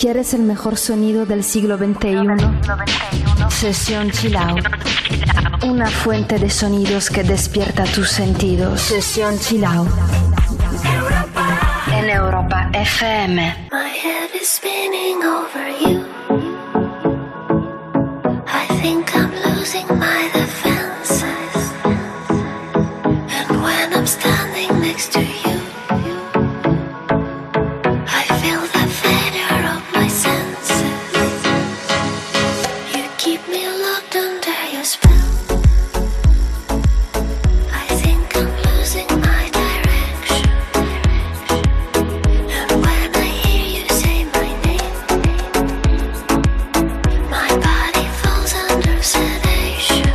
¿Quieres el mejor sonido del siglo XXI? Sesión Chill Out. Una fuente de sonidos que despierta tus sentidos. Sesión Chill Out. En Europa FM. My head is spinning over you. I think I'm losing my defenses. And when I'm standing next to you, I feel the failure of my senses. You keep me locked under your spell. I think I'm losing my direction. And when I hear you say my name, my body falls under sedation.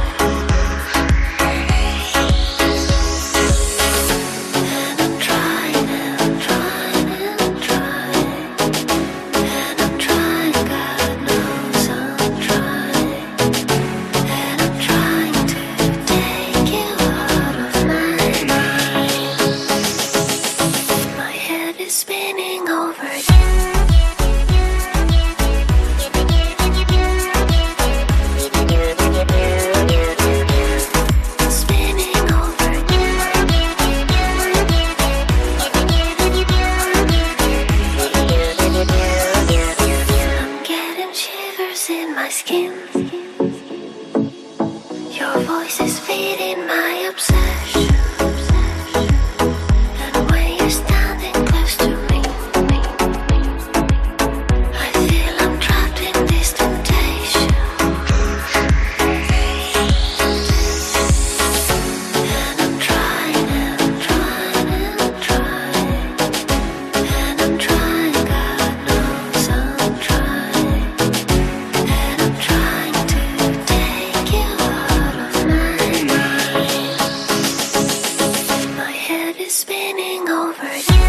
And I'm trying and trying and trying. And I'm trying, God knows I'm trying. And I'm trying to take you out of my mind. My head is spinning over you. Spinning over you. I'm getting shivers in my skin. Your voice is feeding my obsession. And when you're standing close to me, I feel I'm trapped in this temptation. And I'm trying and trying and trying. And I'm trying, God knows I'm trying. And I'm trying to take you out of my mind. My head is spinning over you.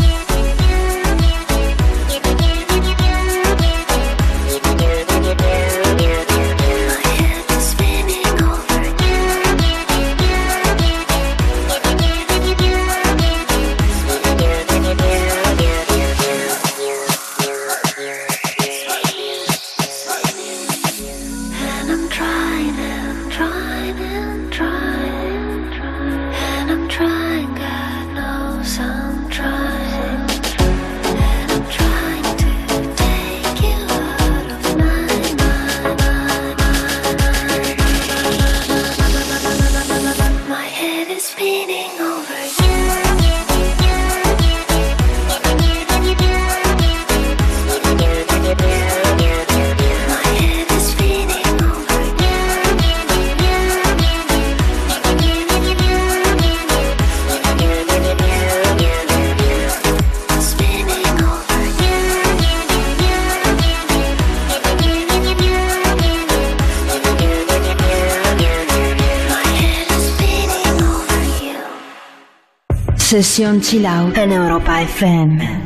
My head is spinning over and I'm trying and trying and trying. And I'm trying, God knows I'm trying. And I'm trying to take you out of my mind. My head is spinning over you. My head is spinning over you. Spinning over My head is spinning over you. Sesión Chill Out en Europa FM.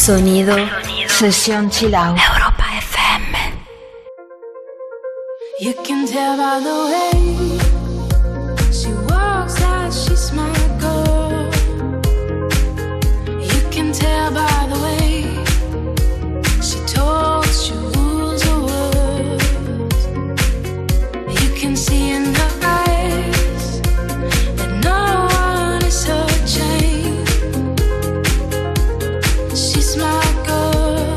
Sonido, sesión chill out. Europa FM. You can tell by the way she walks that she's my girl. You can tell by the way she talks, she rules her words. You can see in her eyes that no one is her chain. She's my girl,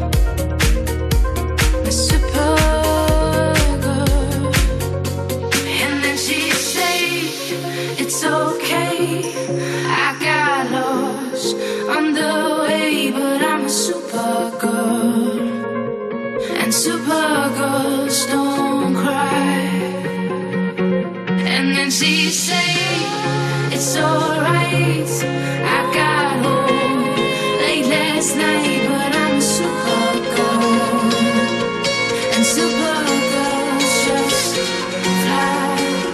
my super girl. And then she said, it's okay, I got lost on the way, but I'm a super girl, and super girls don't cry. And then she said, it's alright, I got home late last night, but I'm a super girl, and super girls just fly.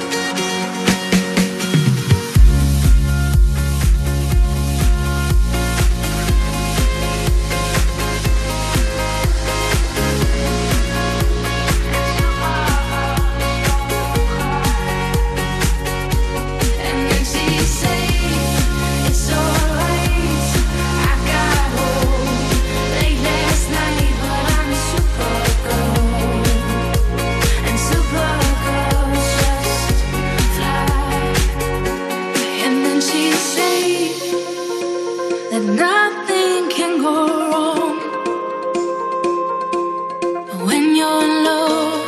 And then she said, it's alright, I got home late last night, but I'm a super girl, and super girls just fly. And then she said that nothing can go wrong when you're in love.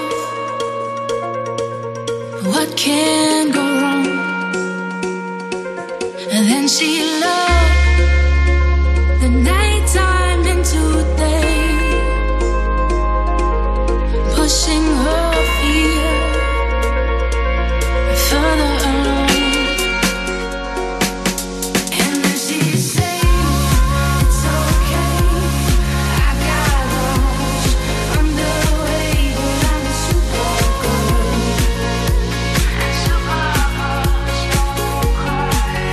What can go wrong? And then she loved the nighttime into day, pushing her fear further along. And then she said, it's okay, I got lost on the way, but I'm a super girl, and super girls don't cry.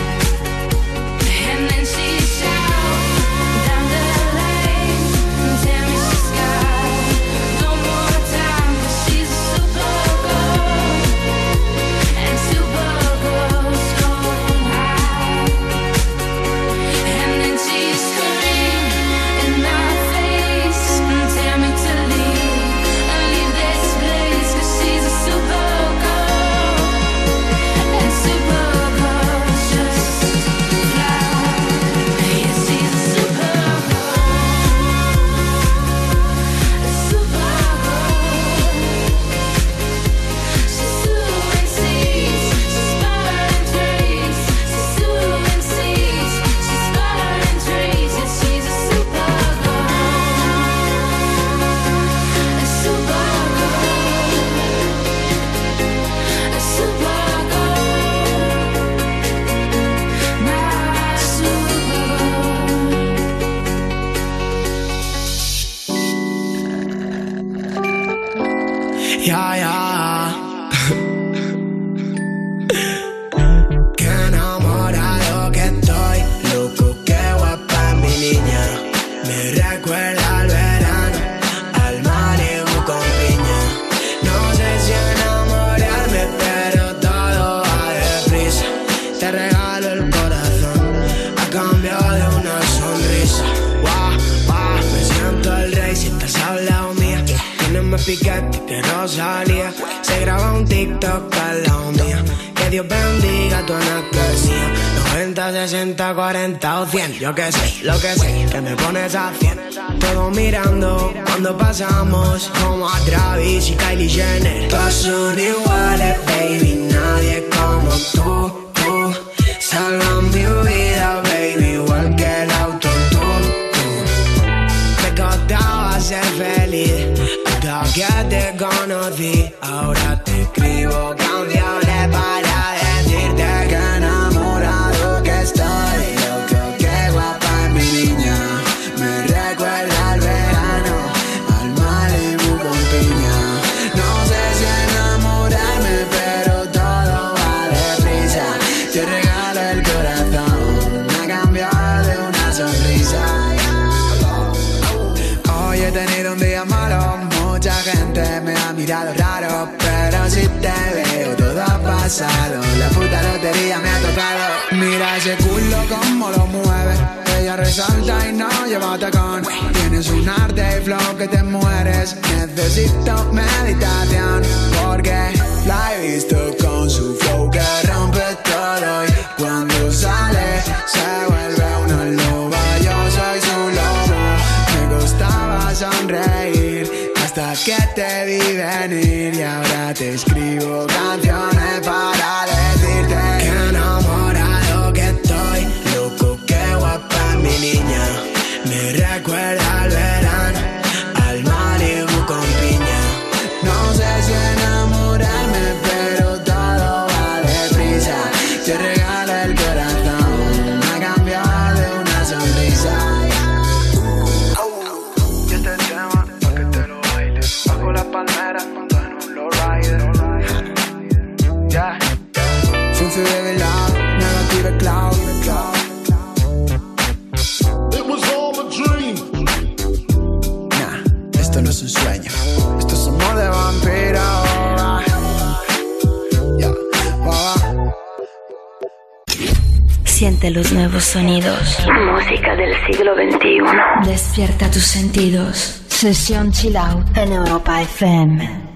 And then she shouted down the lane, tell me she's got no more time, 'cause she's a super girl, and super girls don't hide. And then she screamed in my face, tell me to leave this place, 'cause she's a super girl, and super girls just fly. Yeah, she's a super girl, a super girl. She's doing seeds, she's burning trees. She's doing seeds, she's burning trees. Yeah, she's a super girl, a super girl, a super girl, my super girl. Ya, ya. Qué enamorado que estoy, loco, qué guapa es mi niña. Me recuerda al verano, al Malibu con piña. No sé si enamorarme, pero todo va deprisa. Te regalo el corazón a cambio de una sonrisa. Guau, guau, me siento el rey si estás al lado mía. Tienes más piquete que Rosalía. Se graba un TikTok al lado mía. Que Dios bendiga tu anatomía. 90, 60, 40 o 100. Yo que sé, lo que sé, que me pones a 100. Todos mirando cuando pasamos, como a Travis y Kylie Jenner. Todos son iguales, baby, nadie como tú. Salva mi vida, baby, igual que el auto, tú. Me costaba ser feliz hasta que te conocí. Ahora te escribo canciones para decirte que enamorado que estoy. Loco, qué guapa es mi niña. Me recuerda al verano, al Malibu con piña. No sé si enamorarme, pero todo va deprisa. Te regalo el corazón a cambio de una sonrisa. mirado raro, pero si te veo todo ha pasado. La puta lotería me ha tocado. Mira ese culo como lo mueve. Ella resalta y no lleva tacón. Tienes un arte y flow que te mueres. Necesito meditación porque la he visto con su flow que rompe todo. Y cuando sale se vuelve una loba. Yo soy su lobo. Me gustaba sonreír hasta que te vi venir. Y ahora te escribo canciones para decirte que enamorado que estoy. Loco, qué guapa mi niña. Me recuerda al verano, al Malibu con piña. No sé si enamorarme, pero todo va deprisa. Te regalo el corazón, me ha cambiado de una sonrisa. Y este tema, pa' que te lo bailes. Bajo las palmeras, monto en un lowrider. Yeah. Funky baby love, negative cloud. It was all a dream. Nah, esto no es un sueño. Esto es amor de vampiro. Yeah. Siente los nuevos sonidos. Música del siglo XXI. Despierta tus sentidos. Sesión Chill Out en Europa FM.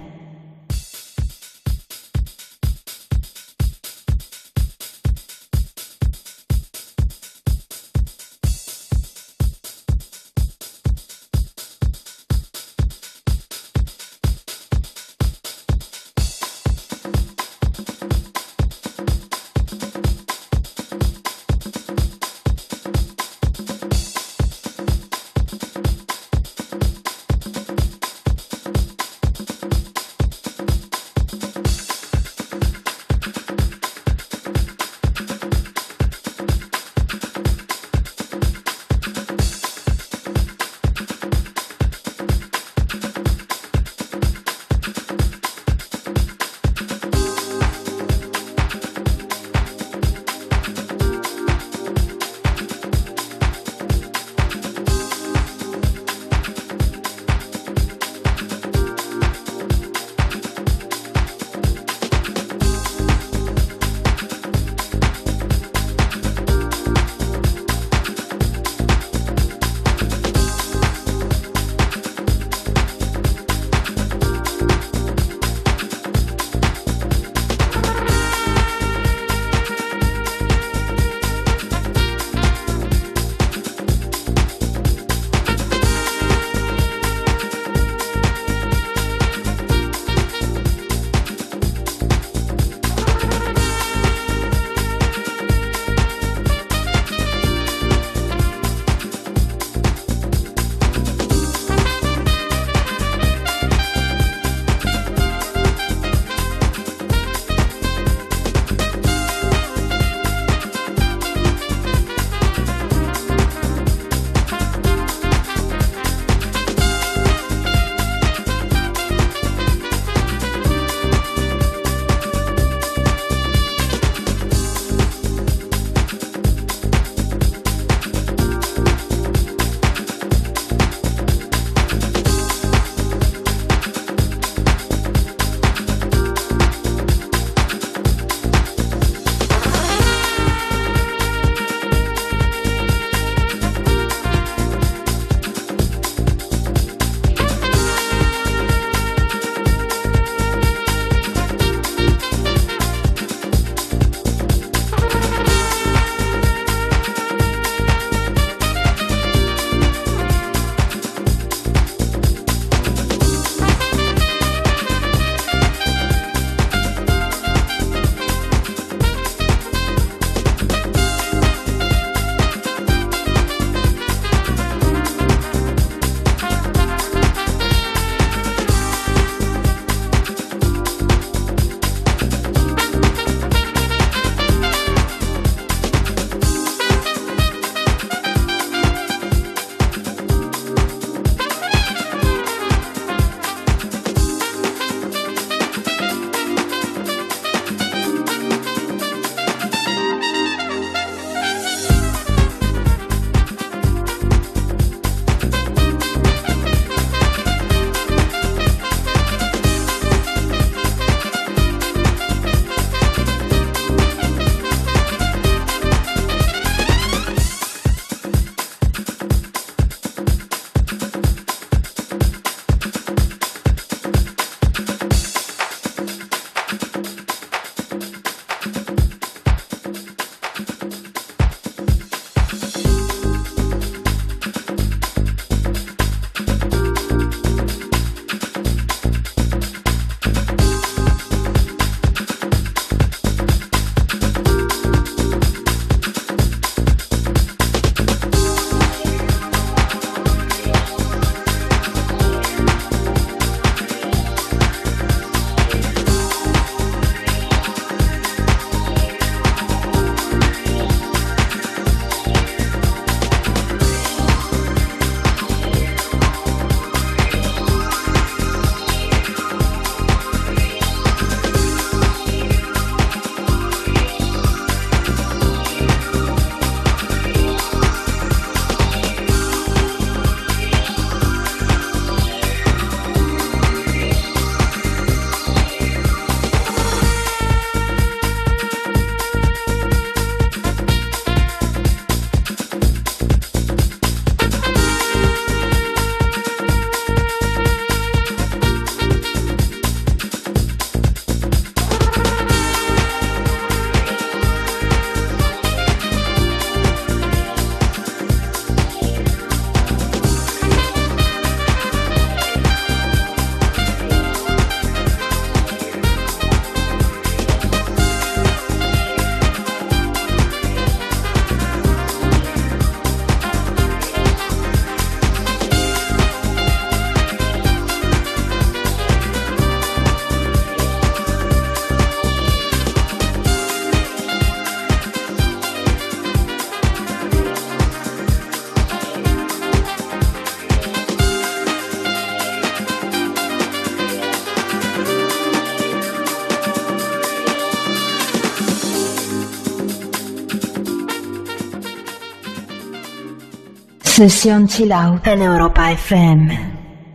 Sesión Chill Out en Europa FM.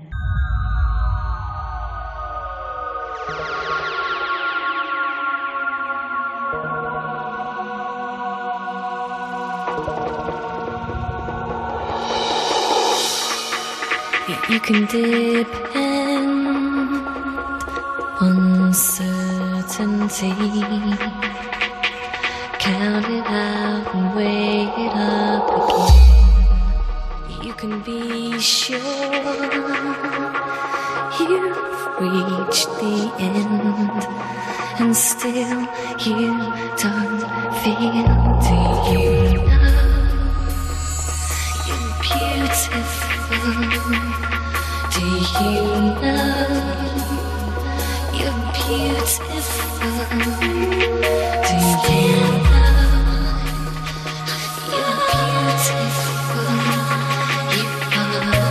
You can depend on certainty. Count it out and weigh it up again. You can be sure you've reached the end, and still you don't feel. Do you know you're beautiful? Do you know you're beautiful? Do you know you're beautiful? You are.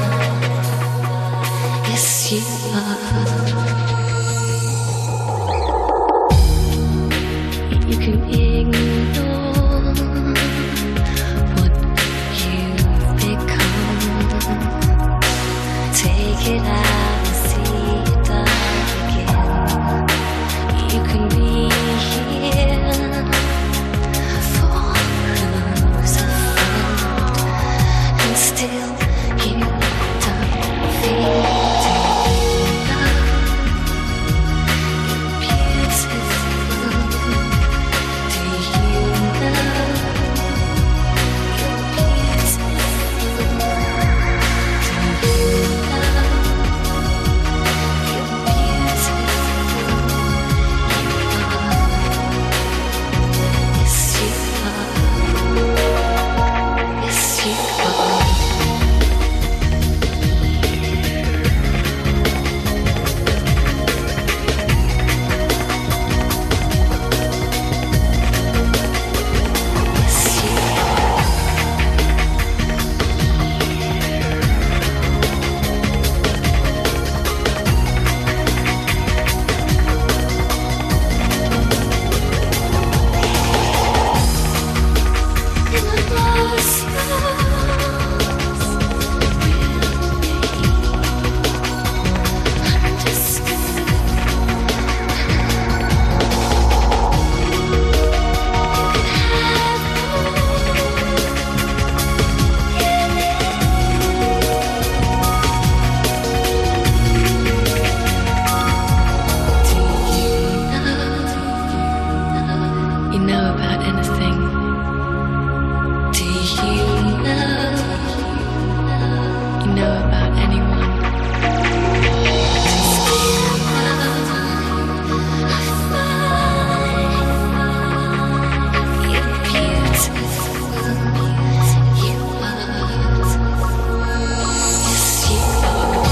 Yes, you are. You can ignore what you've become. Take it out and see it die again. You can be here for who's afraid, and still you don't feel. Do you know you're beautiful? Do you know you're beautiful? Do you know about anything? Do you know about anyone? You're beautiful. You are. Yes, you are.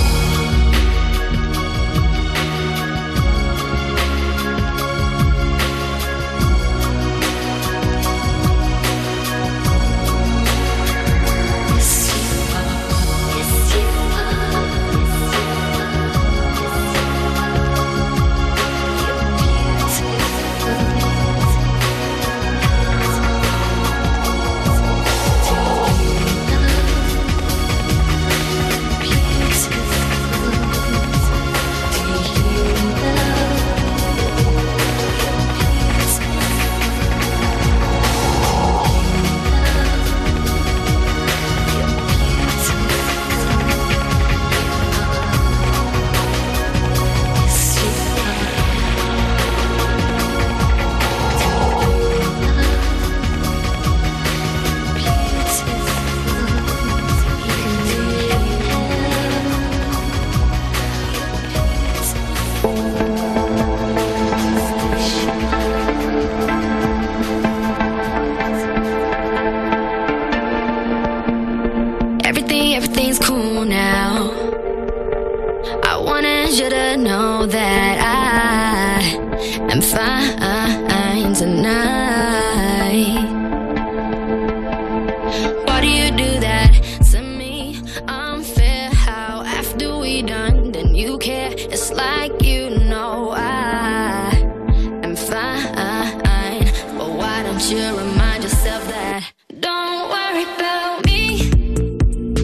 Everything's cool now. I wanted you to know that I am fine tonight. Why do you do that to me? Unfair how after we done, then you care. It's like you know I am fine. But why don't you remind yourself that? Don't worry about me.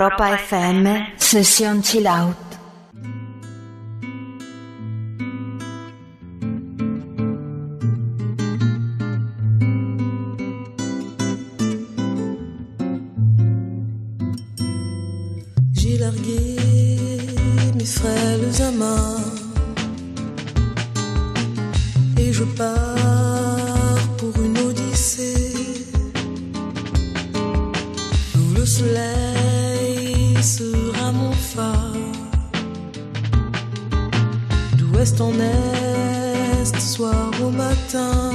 Europa FM, sesión chill out. J'ai largué mes frêles amants et je pars pour une odyssée où le soleil sera mon phare. D'ouest en est, soir au matin,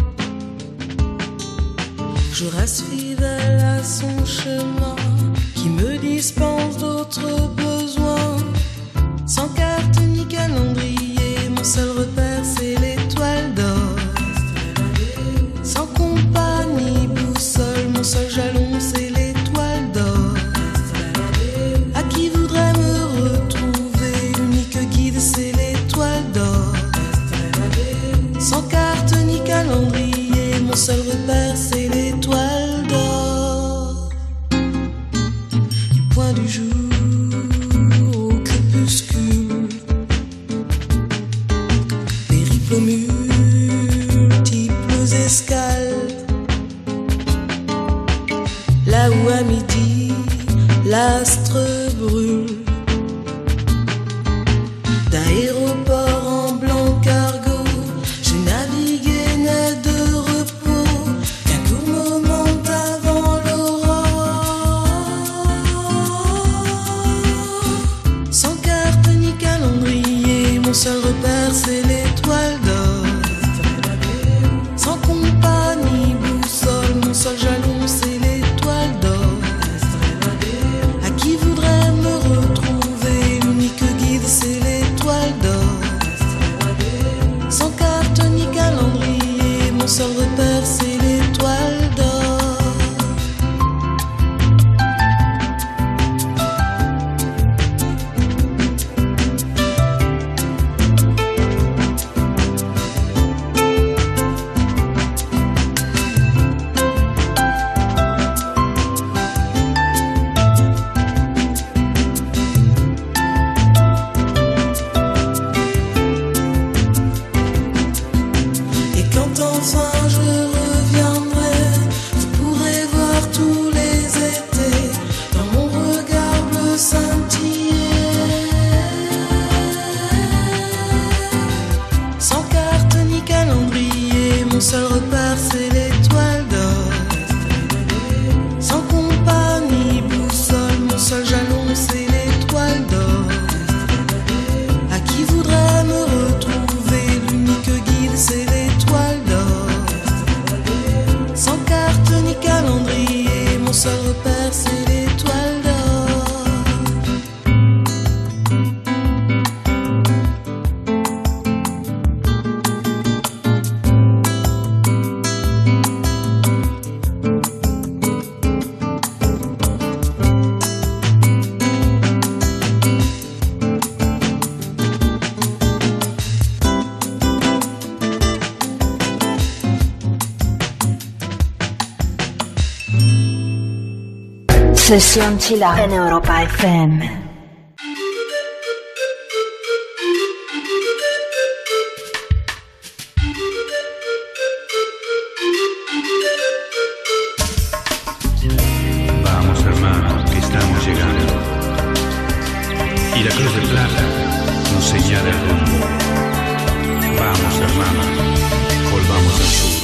je reste fidèle à son chemin qui me dispense d'autres besoins. Sans carte ni calendrier, mon seul repère c'est l'étoile d'or. Sans compas ni boussole, mon seul jalon c'est l'étoile d'or. À qui voudrait me retrouver, l'unique guide c'est l'étoile d'or. Sans carte ni calendrier, mon seul repère c'est l'étoile d'or. Du point du jour au crépuscule, périple aux multiples escales, là où à midi l'astre brûle. D'aéroport en blanc cargo, je naviguais net de repos, qu'un court moment avant l'aurore. Sans carte ni calendrier, mon seul repère c'est l'étoile d'or. Sans compas ni boussole, mon seul jalon c'est l'étoile d'or. À qui voudrait me retrouver, l'unique guide c'est l'étoile d'or. Sans carte ni calendrier, mon seul repère c'est l'étoile d'or. Et quand enfin je reviendrai, vous pourrez voir tous les étés dans mon regard bleu scintiller. Sans carte ni calendrier, mon seul repère c'est l'étoile d'or. Sans compas ni boussole, mon seul jalon c'est l'étoile d'or. À qui voudrait me retrouver, l'unique guide c'est l'étoile d'or. Sans carte ni calendrier, mon seul repère c'est l'étoile d'or. Sesión chill out en Europa FM. Vamos hermanos, que estamos llegando. Y la cruz de plata nos señala el rumbo. Vamos hermanos, volvamos al sur.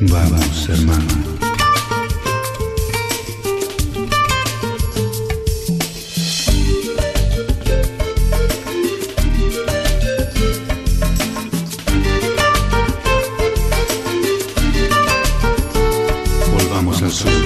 Vamos, hermano. Volvamos al sur.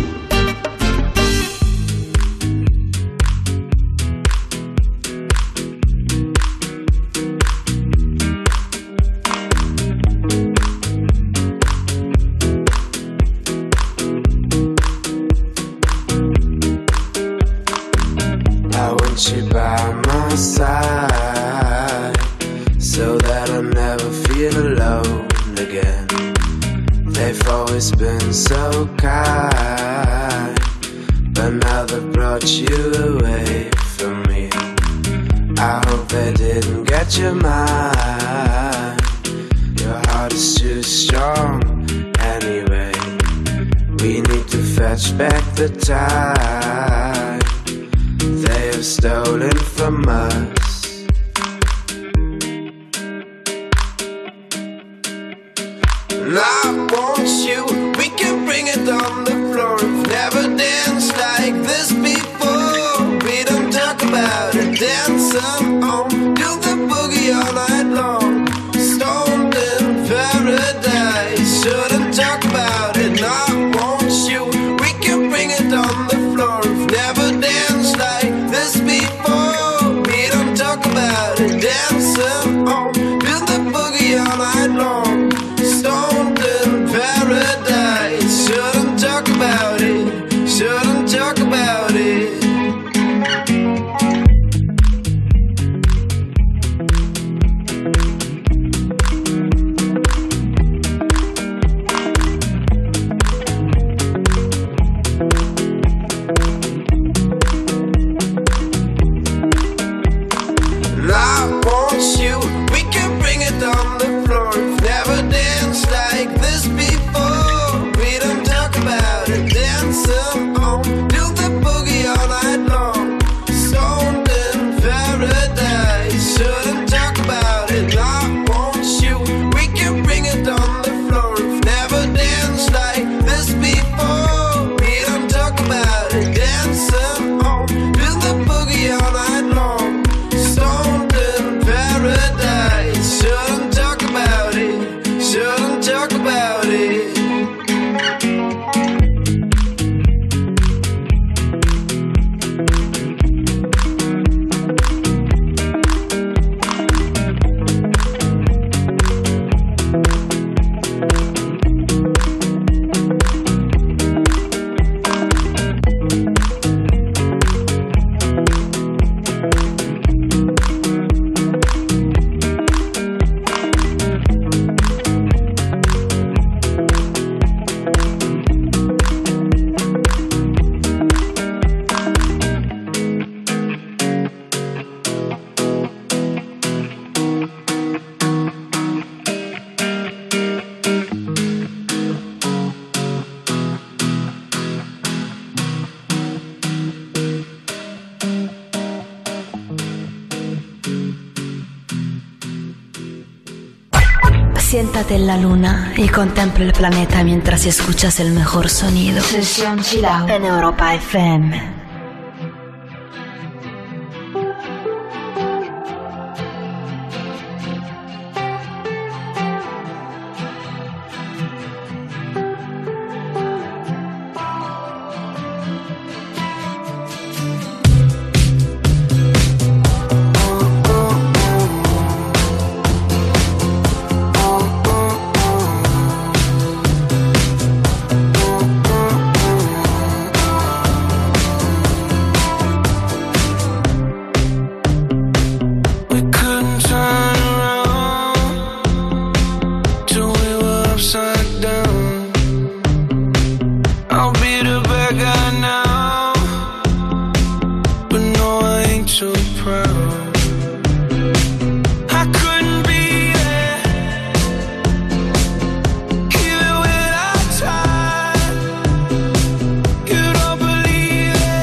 Siéntate en la luna y contempla el planeta mientras escuchas el mejor sonido. Sesión Chill Out en Europa FM.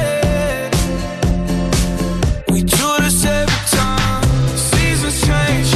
Change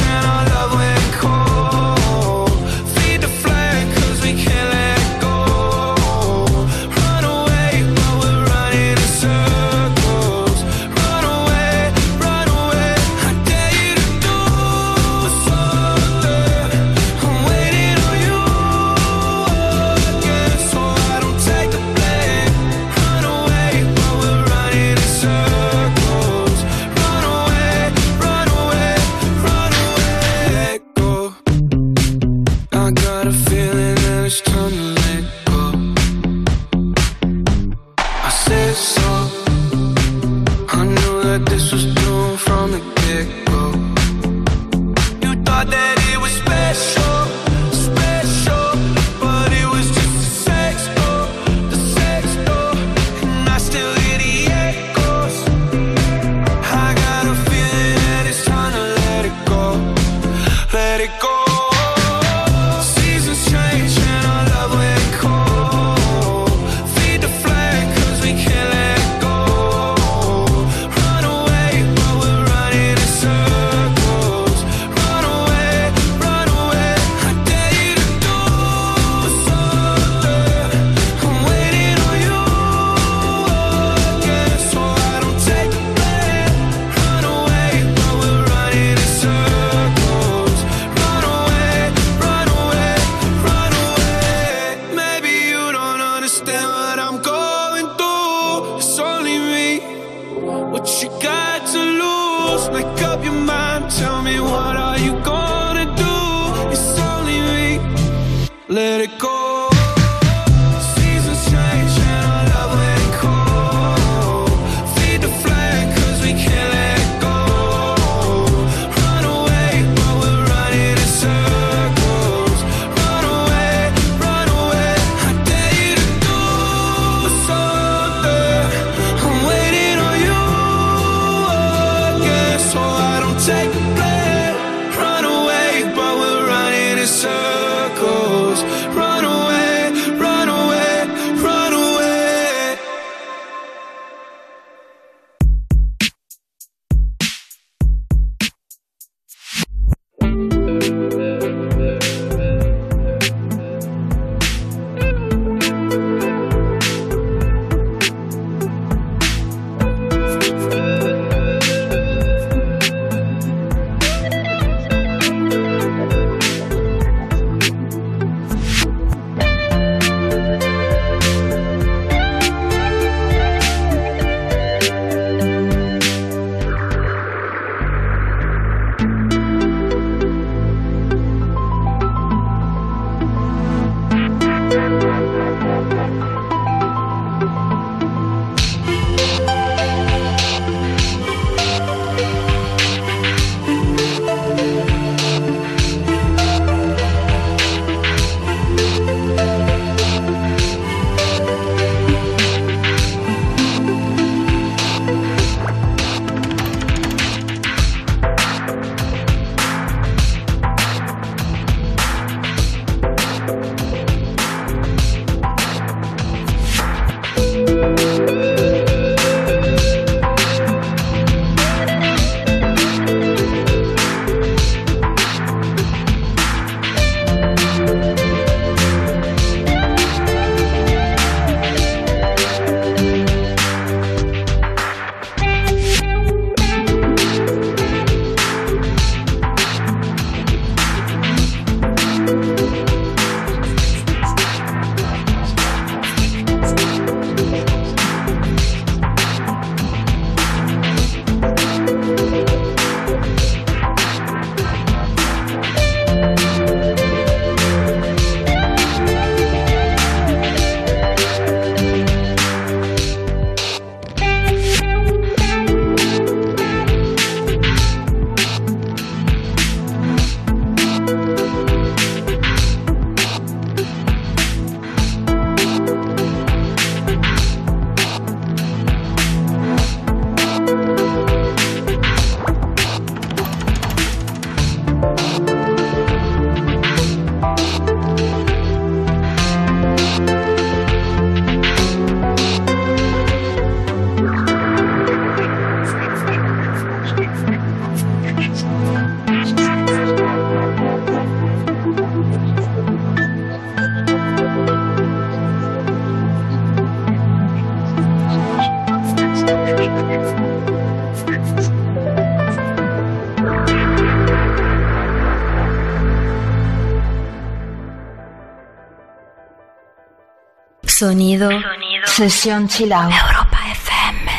thought that it was special, special, but it was just the sex door, and I still hear the echoes. I got a feeling that it's time to let it go, let it go. Seasons change and our love went cold. Feed the flame 'cause we can't let it go. Run away, but we're running in circles. Run away, I dare you to do something. I'm waiting on you again, so I don't take the blame. Run away, but we're running in circles. Run away, maybe you don't understand what I'm going through. It's only me. What you got to lose? Make up your mind. Tell me, what are you gonna do? It's only me. Let it go. Seasons change and our love went cold. Feed the flame 'cause we can't let it go. Run away, but we're running in circles. Run away, I dare you to do something. I'm waiting on you again, so I don't take the blame. Run away, but we're running in circles. Run away, run away, run away. Sonido. Sesión Chill Out. Europa FM.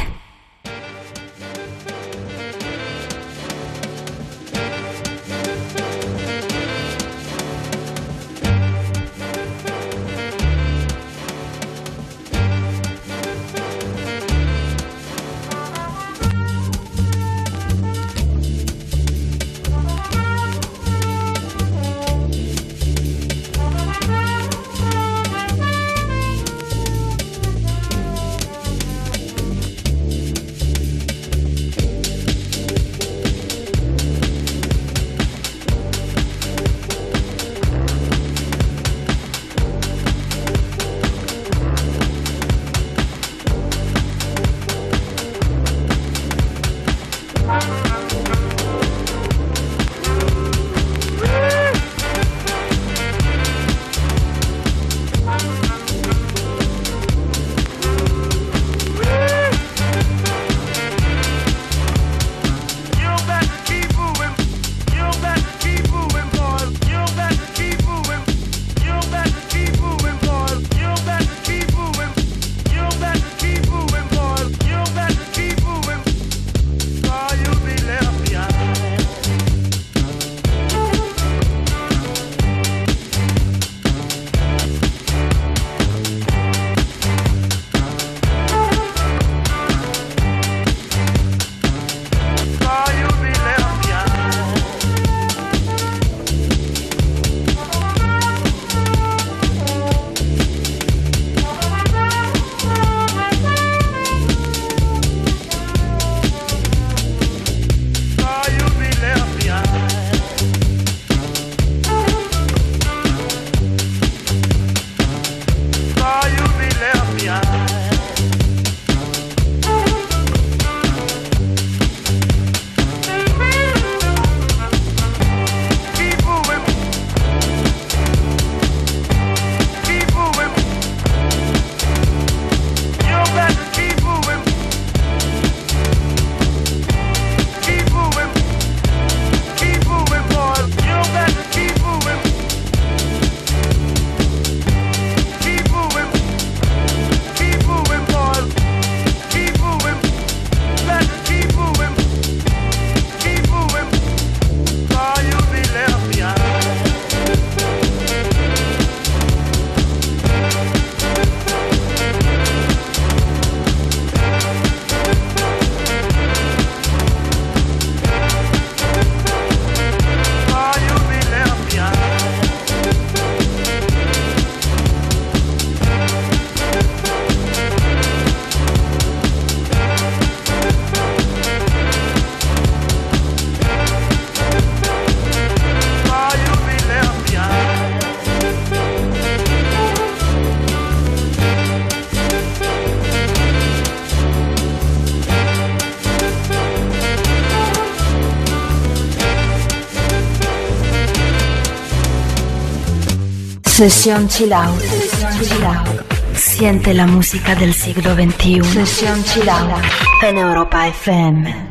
Sesión Chill Out. Siente la música del siglo XXI. Sesión Chill Out en Europa FM.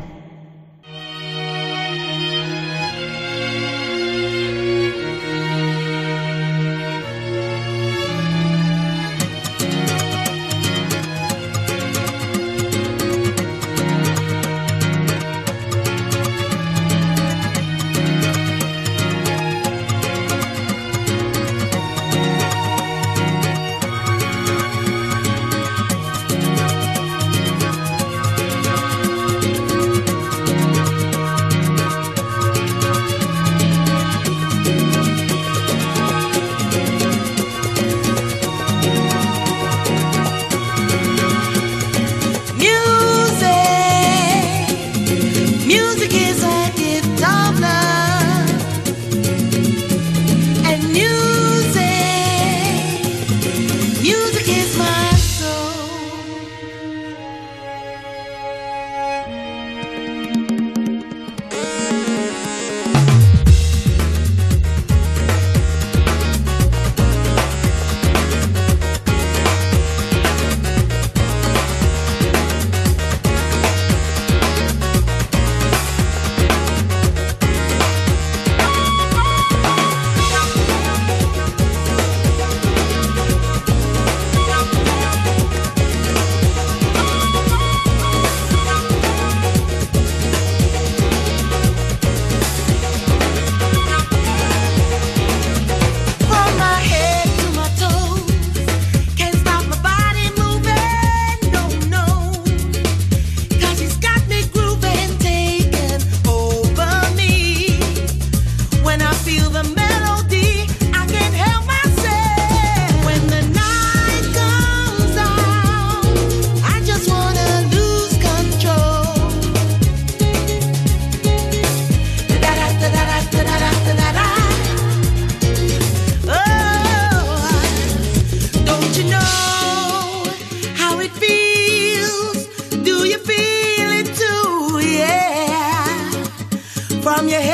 From your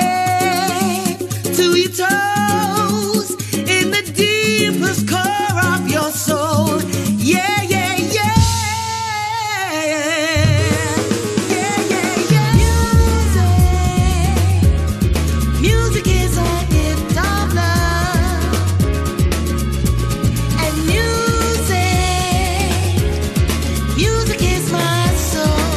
head to your toes, in the deepest core of your soul. Yeah, yeah, yeah. Yeah, yeah, yeah. Music is a gift of love. And music is my soul.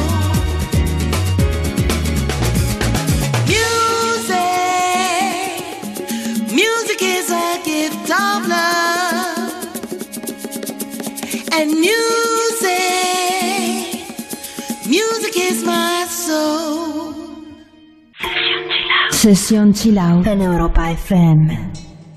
Music is a gift of love, and music is my soul. Sesión Chill Out en Europa FM.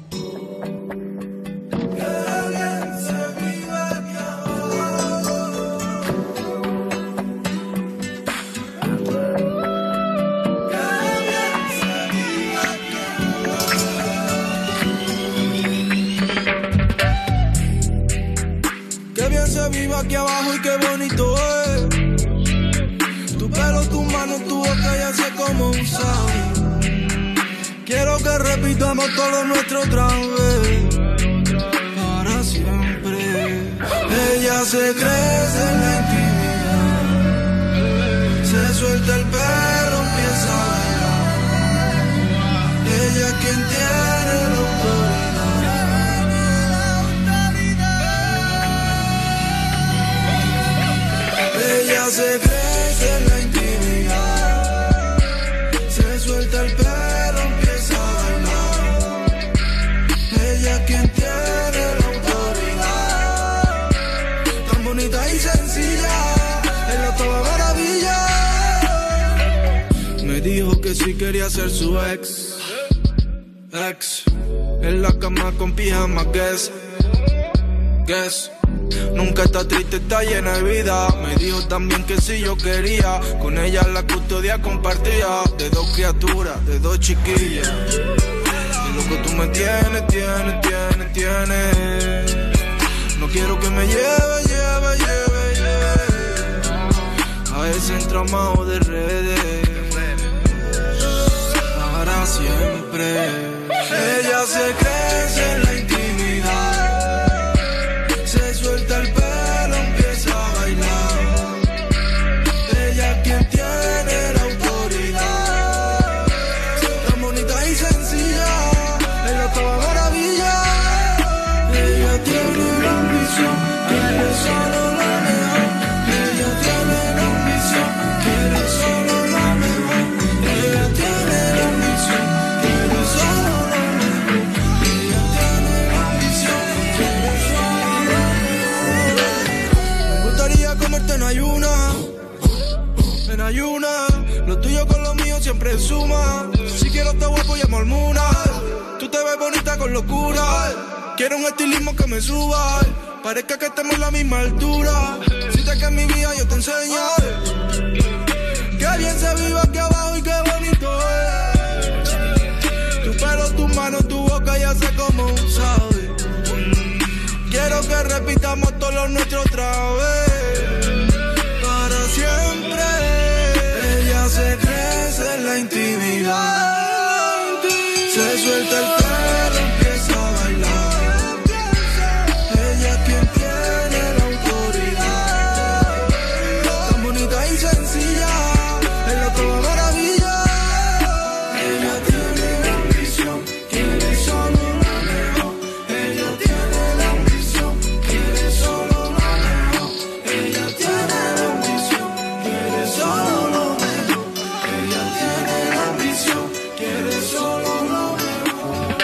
Qué bien se vive aquí abajo y qué bonito es. Tu pelo, tu mano, tu boca ya sé cómo usar. Quiero que repitamos todo nuestro otra vez, para siempre. Ella se crece en la intimidad, se suelta el pelo, empieza a bailar. Ella es quien tiene la autoridad. Ella se crece en la intimidad, se suelta el pelo, empieza a bailar. Ella es quien tiene la autoridad. Tan bonita y sencilla, ella es toda maravilla. Me dijo que si quería ser su ex. En la cama con pijama, guess. Nunca está triste, está llena de vida. Me dijo también que si yo quería, con ella la custodia compartía. De dos criaturas, de dos chiquillas. Y lo que tú me tienes. No quiero que me lleve a ese entramado de redes. Para siempre. Ella se crece en la intimidad, ambición, quiere solo lo mejor. Ella tiene la ambición, quiere solo lo mejor. Ella tiene la ambición, quiere solo lo mejor. Ella tiene la ambición, quiere solo lo mejor. Me gustaría comerte en ayuna. En ayuna, lo tuyo con lo mío siempre suma. Si quiero te guapo llamo al Muna. Tú te ves bonita con locura. Quiero un estilismo que me suba. Parezca que estemos en la misma altura. Si te que en mi vida yo te enseño. Qué bien se vive aquí abajo y qué bonito es. Tu pelo, tus manos, tu boca ya sé cómo sabe. Quiero que repitamos todo lo nuestro otra vez. Para siempre. Ella se crece en la intimidad. Se suelta el pelo, empieza a bailar. Ella es quien tiene la autoridad. Tan bonita y sencilla, es la toda maravilla. Ella tiene la ambición, quiere solo lo mejor. Ella tiene la ambición, quiere solo lo mejor. Ella tiene la ambición, quiere solo lo mejor. Ella tiene la ambición, quiere solo lo mejor.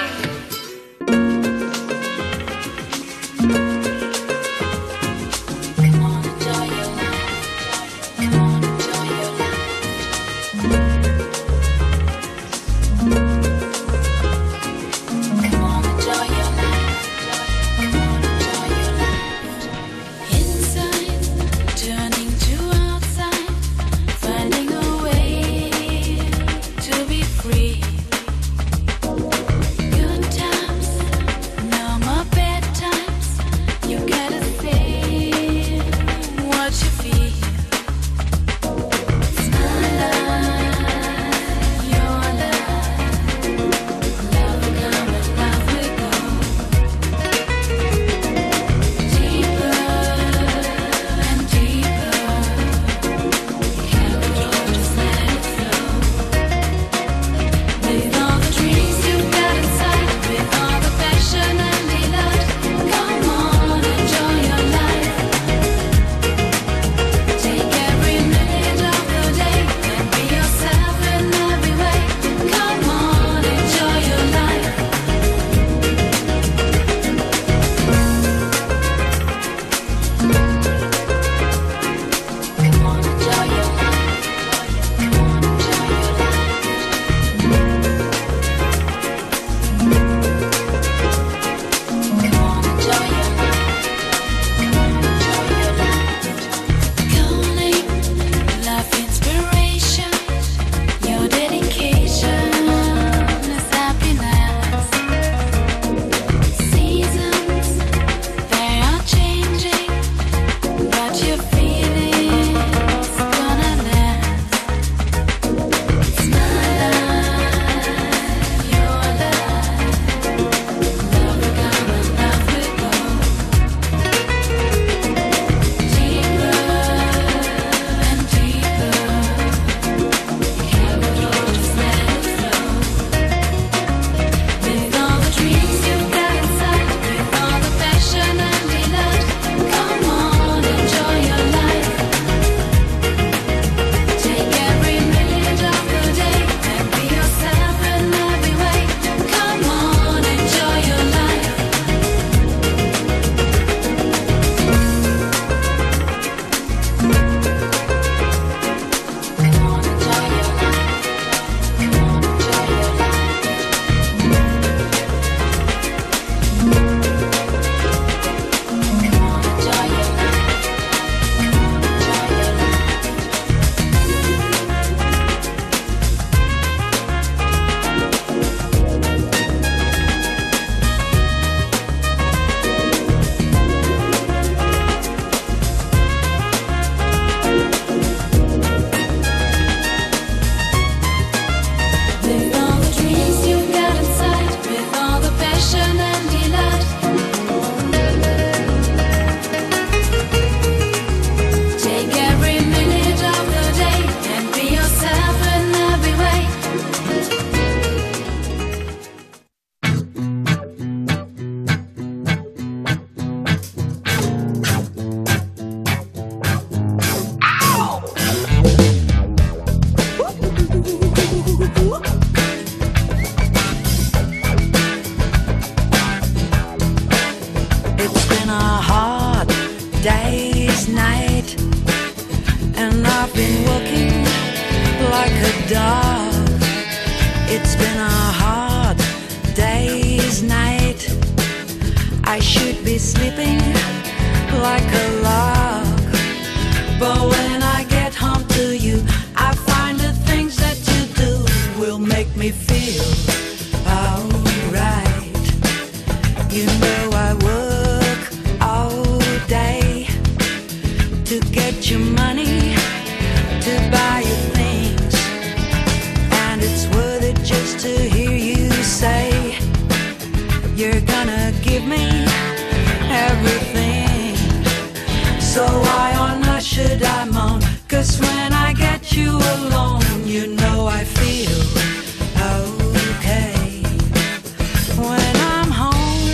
walking like a dog. It's been a hard day's night. I should be sleeping like a log, but when I get home to you, I find the things that you do will make me feel alright. You know I work all day to get your money, to buy you things, and it's worth it just to hear you say you're gonna give me everything. So why on earth should I moan? 'Cause when I get you alone, you know I feel okay. When I'm home,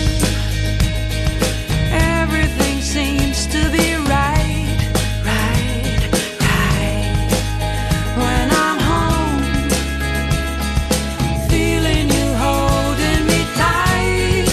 everything seems to be right, right, right. When I'm home, feeling you holding me tight,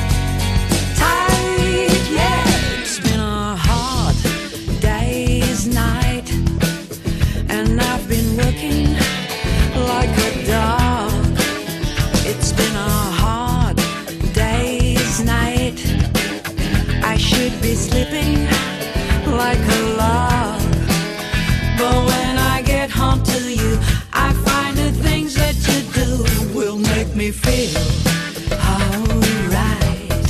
tight, yeah. It's been a hard day's night, and I've been working like a dog. It's been a hard day's night. I should be sleeping like a log, but when I get home to you, I find the things that you do will make me feel alright.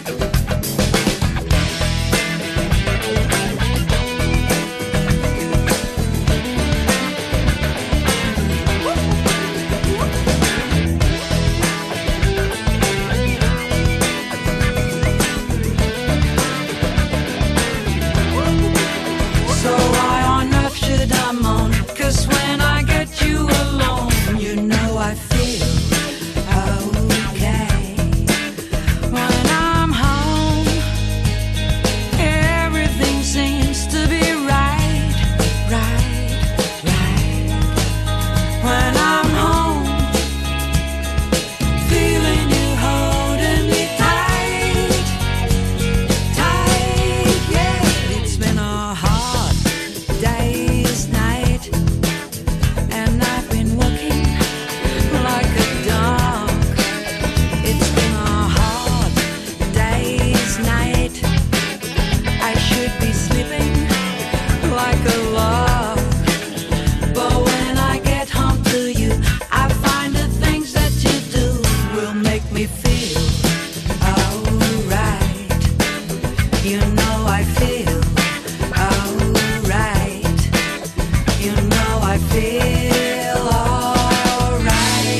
So why on earth should I moan? 'Cause when I get you alone, you know I feel okay. When I'm home, everything seems to be right, right, right. When I'm home, feeling you holding me tight, tight, yeah. It's been a hard day's night, and I've been working like a dog. It's been a hard day's night. I should be sleeping like a log, but when I get home to you, I find the things that you do will make me feel alright. You know I feel alright. You know I feel alright.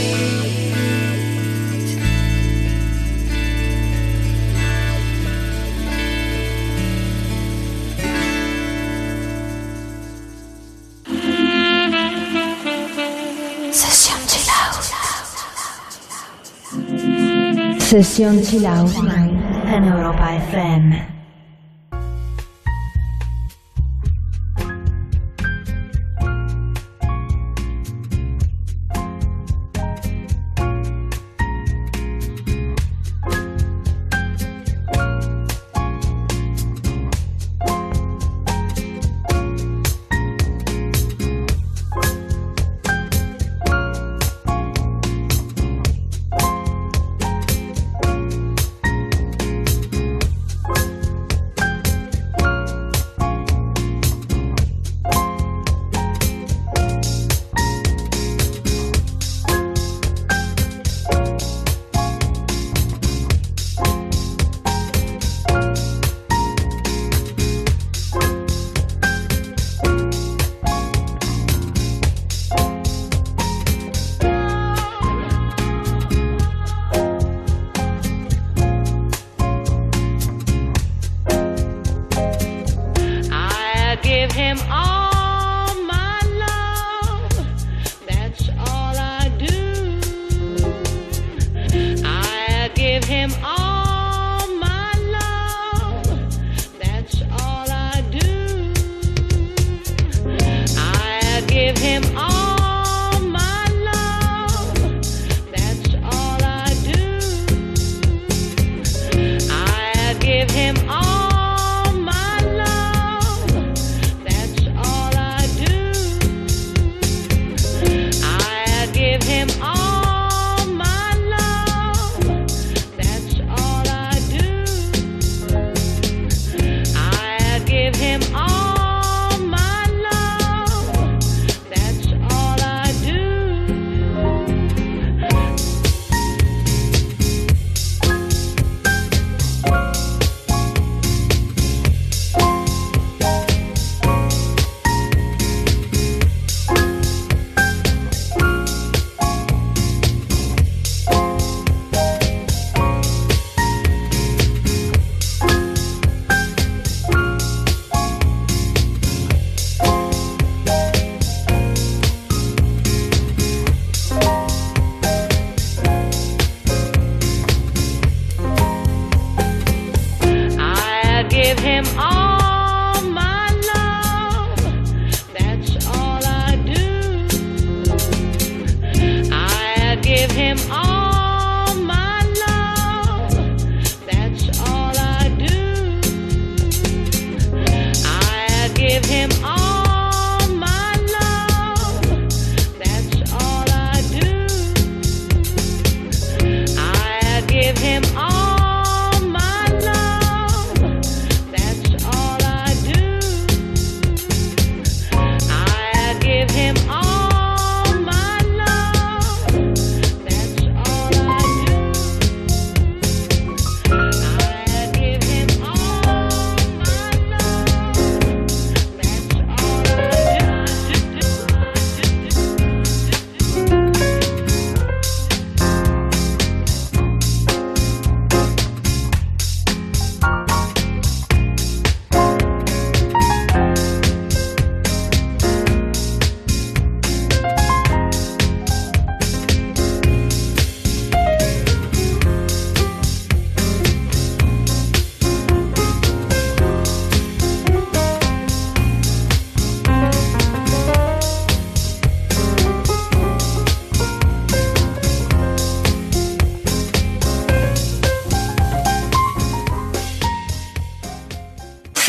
Session Chill Out. Session Chill Out en Europa FM.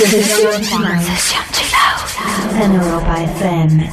Session Chill Out en Europa FM.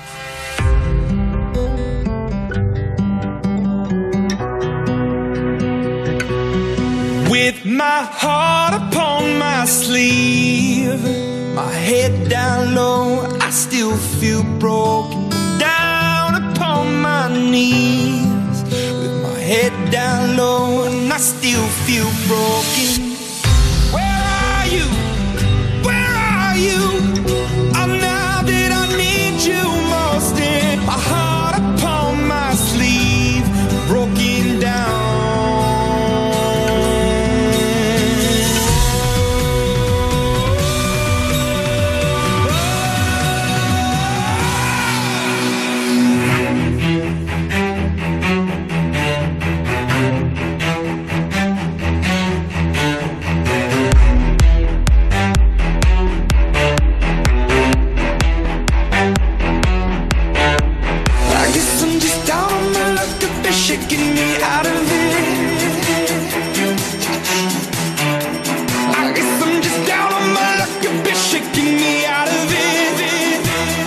With my heart upon my sleeve, my head down low, I still feel broken. Down upon my knees, with my head down low, and I still feel broken. Where are you? Where are you? Oh, now that I need you most, in my heart upon my sleeve, broken down. Shaking me out of it. I guess I'm just down on my luck, a bit shaking me out of it.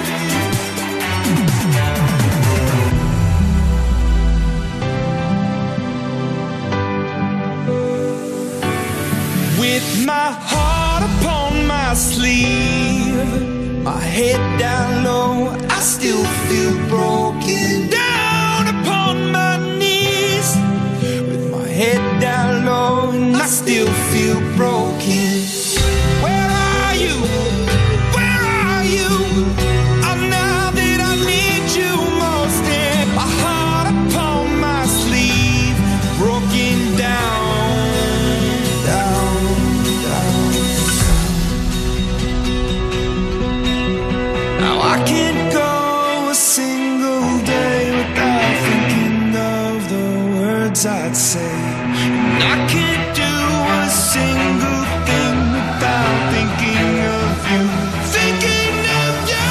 With my heart upon my sleeve, my head down low, I still feel broken. Down upon my knees, with my head down low, and I still feel broken. Where are you? Where are you? Oh, now that I need you most, in my heart upon my sleeve, broken down, down, down. Now I can't go a single day without thinking of the words I'd say. And I can't do a single thing without thinking of you. Thinking of you.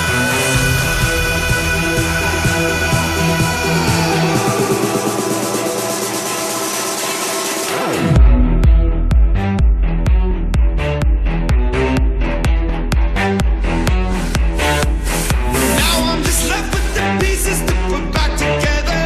Now I'm just left with the pieces to put back together.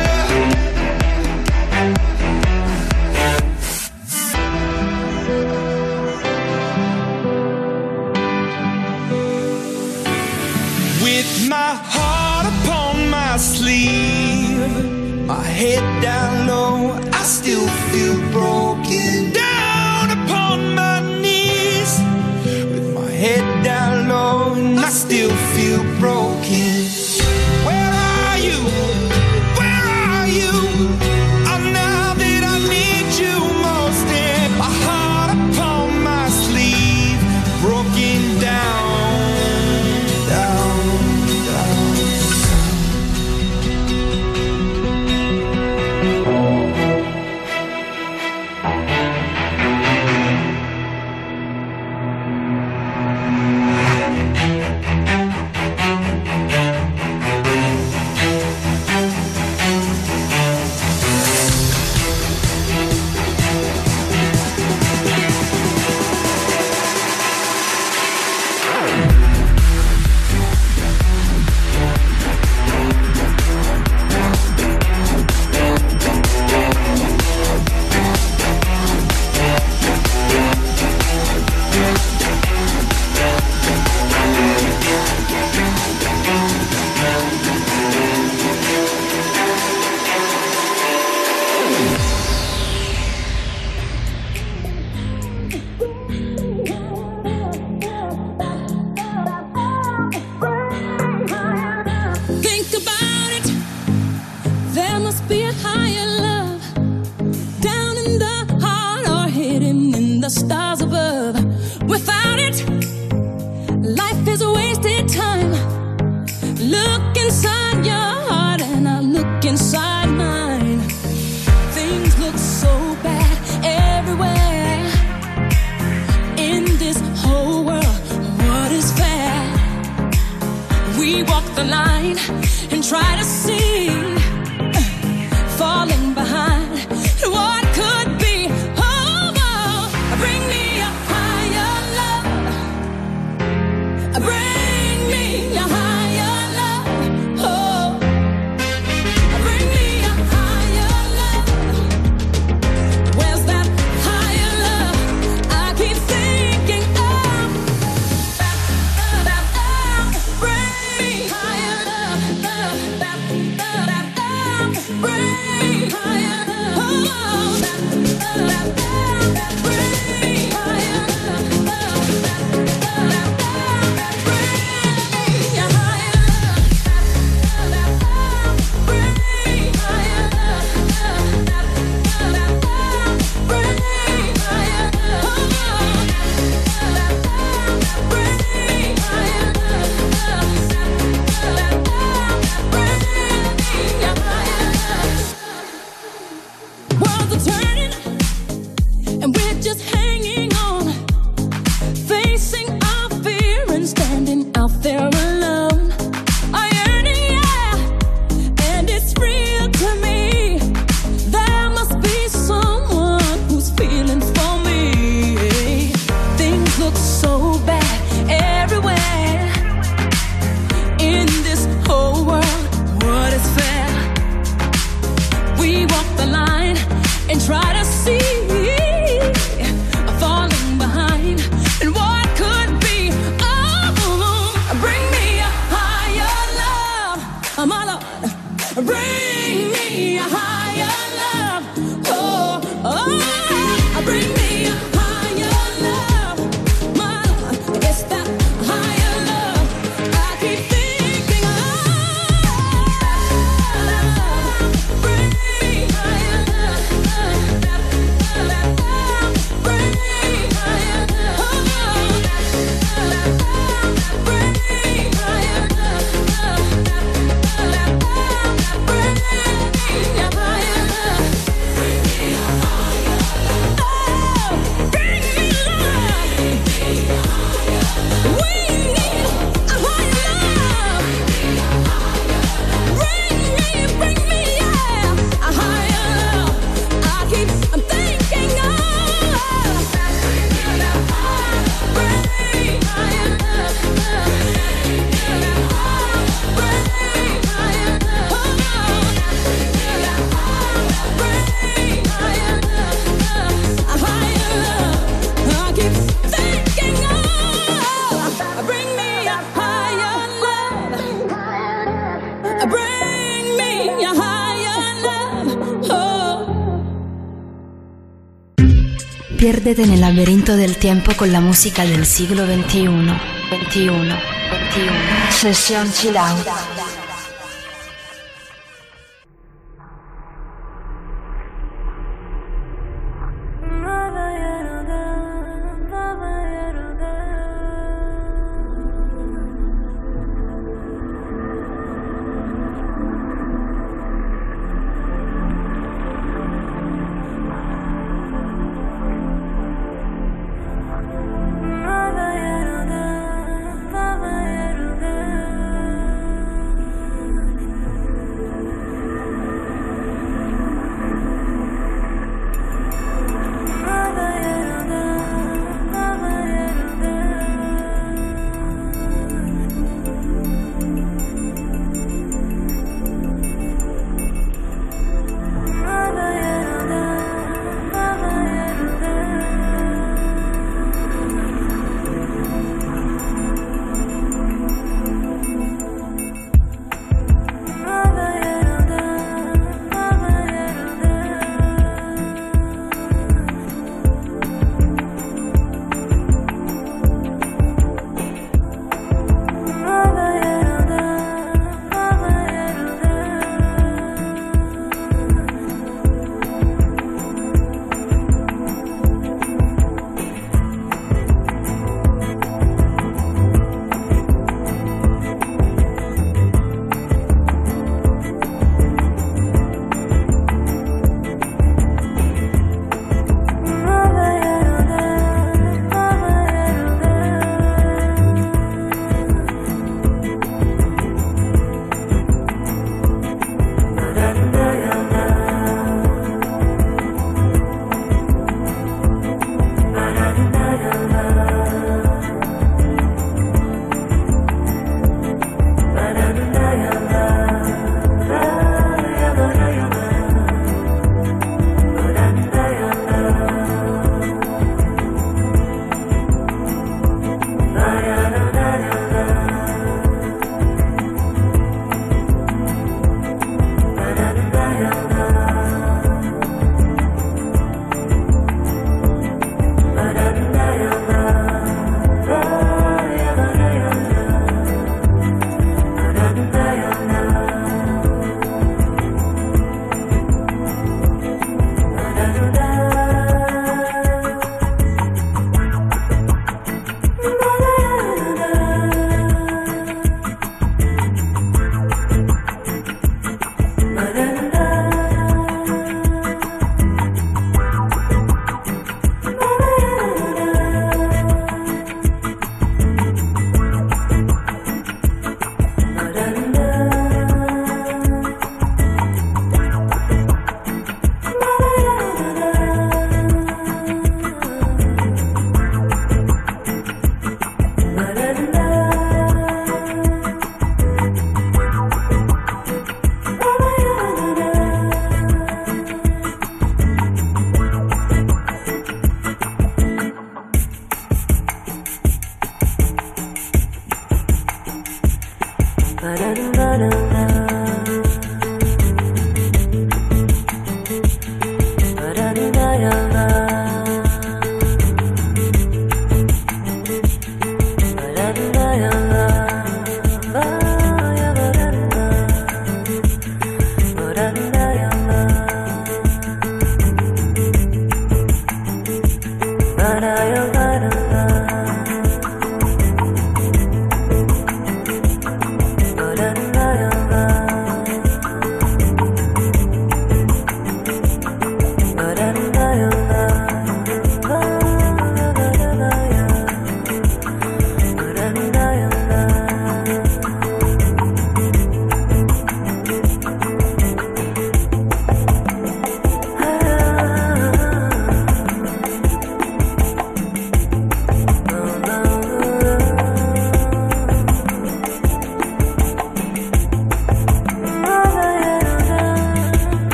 Piérdete en el laberinto del tiempo con la música del siglo XXI. Sesión Chill Out.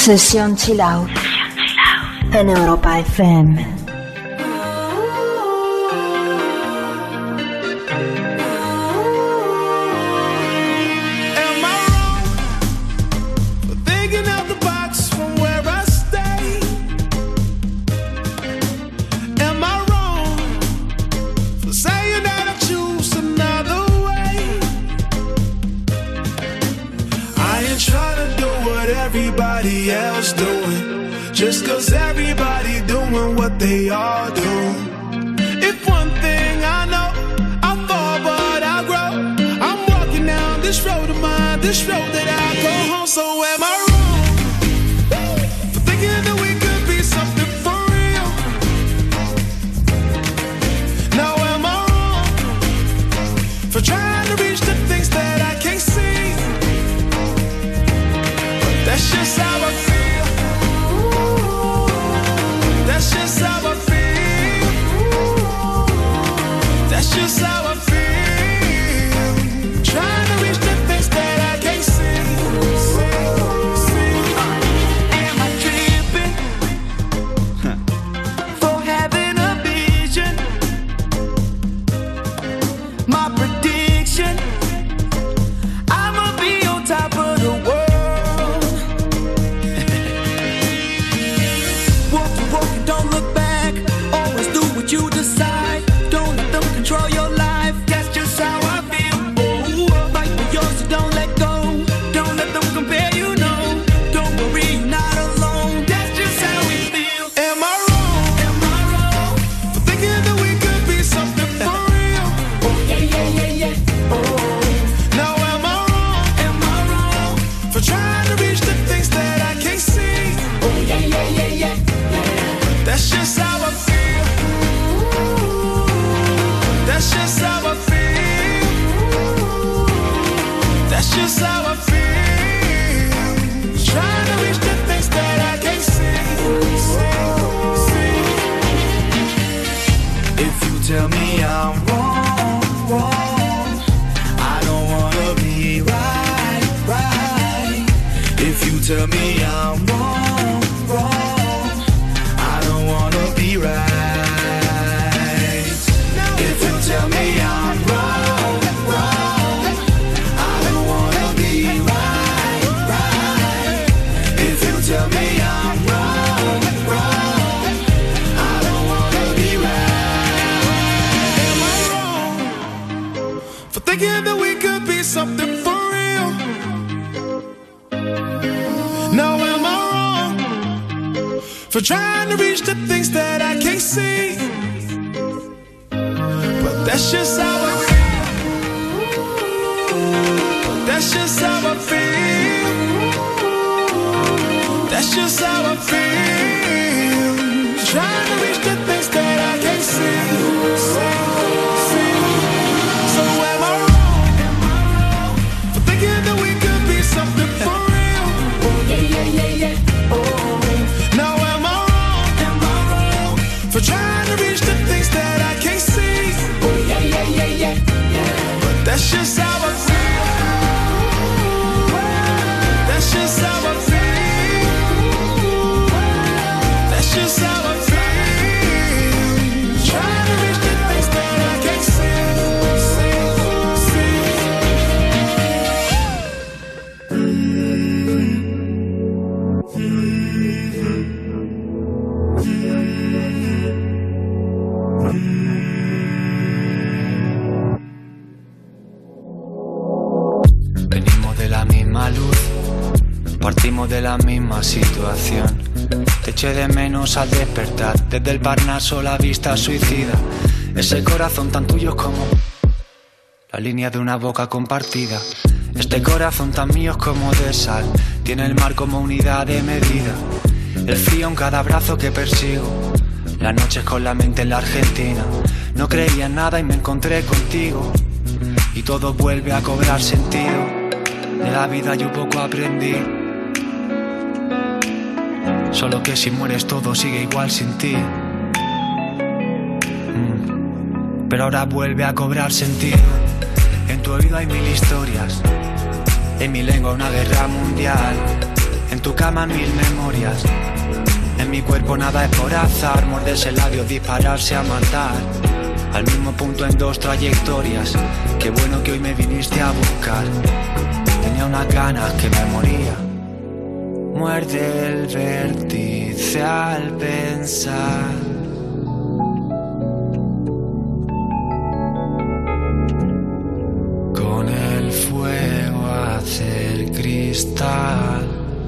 Sesión Chill Out en Europa FM. Everybody else doing, just 'cause everybody doing what they all do. If one thing I know, I fall but I grow. I'm walking down this road of mine, this road that I go home. So am I wrong for thinking that we could be something for real? Now am I wrong for trying to reach the things that I can't see? That's just how I feel. That's just how I feel. That's just how I feel. Trying to reach the things that I can't see. Am I tripping for having a vision? My prediction, I'ma be on top of the world. Don't look back, always do what you decide. Don't let them control your life, that's just how I feel. Oh, fight for yours, so don't let go. Don't let them compare, you know. Don't worry, you're not alone. That's just how we feel. Am I wrong for thinking that we could be something for real? Oh, yeah. Oh, now am I wrong for trying to reach the things that I can't see? Oh, yeah. That's just how I feel. That's just how I feel. That's just how I feel. Trying to reach the things that I can't see. If you tell me I'm wrong, I don't wanna be right. If you tell me I'm wrong, wanna be right. If you tell me I'm wrong, I don't wanna be right. If you tell me I'm wrong, I don't wanna be right. Am I wrong for thinking that we could be something for real? Now am I wrong for trying to reach the things that I can't see? But that's just how I feel. But that's just how I feel. That's just how I feel. Trying to reach the things that I can't see. So am I wrong for thinking that we could be something for real? Oh, yeah. Oh, now am I wrong for trying to reach the things that I can't see? Oh, yeah. But that's just how I feel. That's just how I feel. That's just how I feel. Trying to reach the things that I can't see. Venimos de la misma luz, partimos de la misma situación. Te eché de menos al despertar, desde el Parnaso la vista suicida. Ese corazón tan tuyo como la línea de una boca compartida. Este corazón tan mío como de sal, tiene el mar como unidad de medida. El frío en cada brazo que persigo, las noches con la mente en la Argentina. No creía en nada y me encontré contigo, y todo vuelve a cobrar sentido. De la vida yo poco aprendí, solo que si mueres todo sigue igual sin ti. Pero ahora vuelve a cobrar sentido. En tu oído hay 1000 historias, en mi lengua una guerra mundial. En tu cama mil memorias. En mi cuerpo nada es por azar. Morderse el labio, dispararse a matar. Al mismo punto en dos trayectorias. Qué bueno que hoy me viniste a buscar. Tenía unas ganas que me moría. Muerde el vértice al pensar. Con el fuego hacer cristal.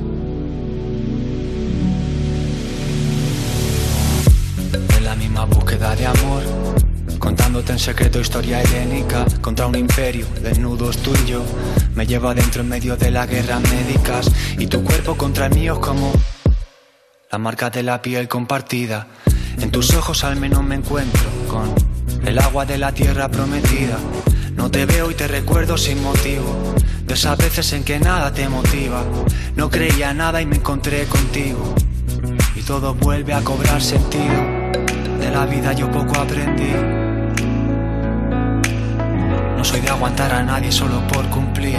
En la misma búsqueda de amor, contándote en secreto historia helénica. Contra un imperio, desnudos tú y yo. Me llevo adentro en medio de las guerras médicas. Y tu cuerpo contra el mío es como la marca de la piel compartida. En tus ojos al menos me encuentro con el agua de la tierra prometida. No te veo y te recuerdo sin motivo. De esas veces en que nada te motiva. No creía nada y me encontré contigo. Y todo vuelve a cobrar sentido. De la vida yo poco aprendí. No soy de aguantar a nadie solo por cumplir.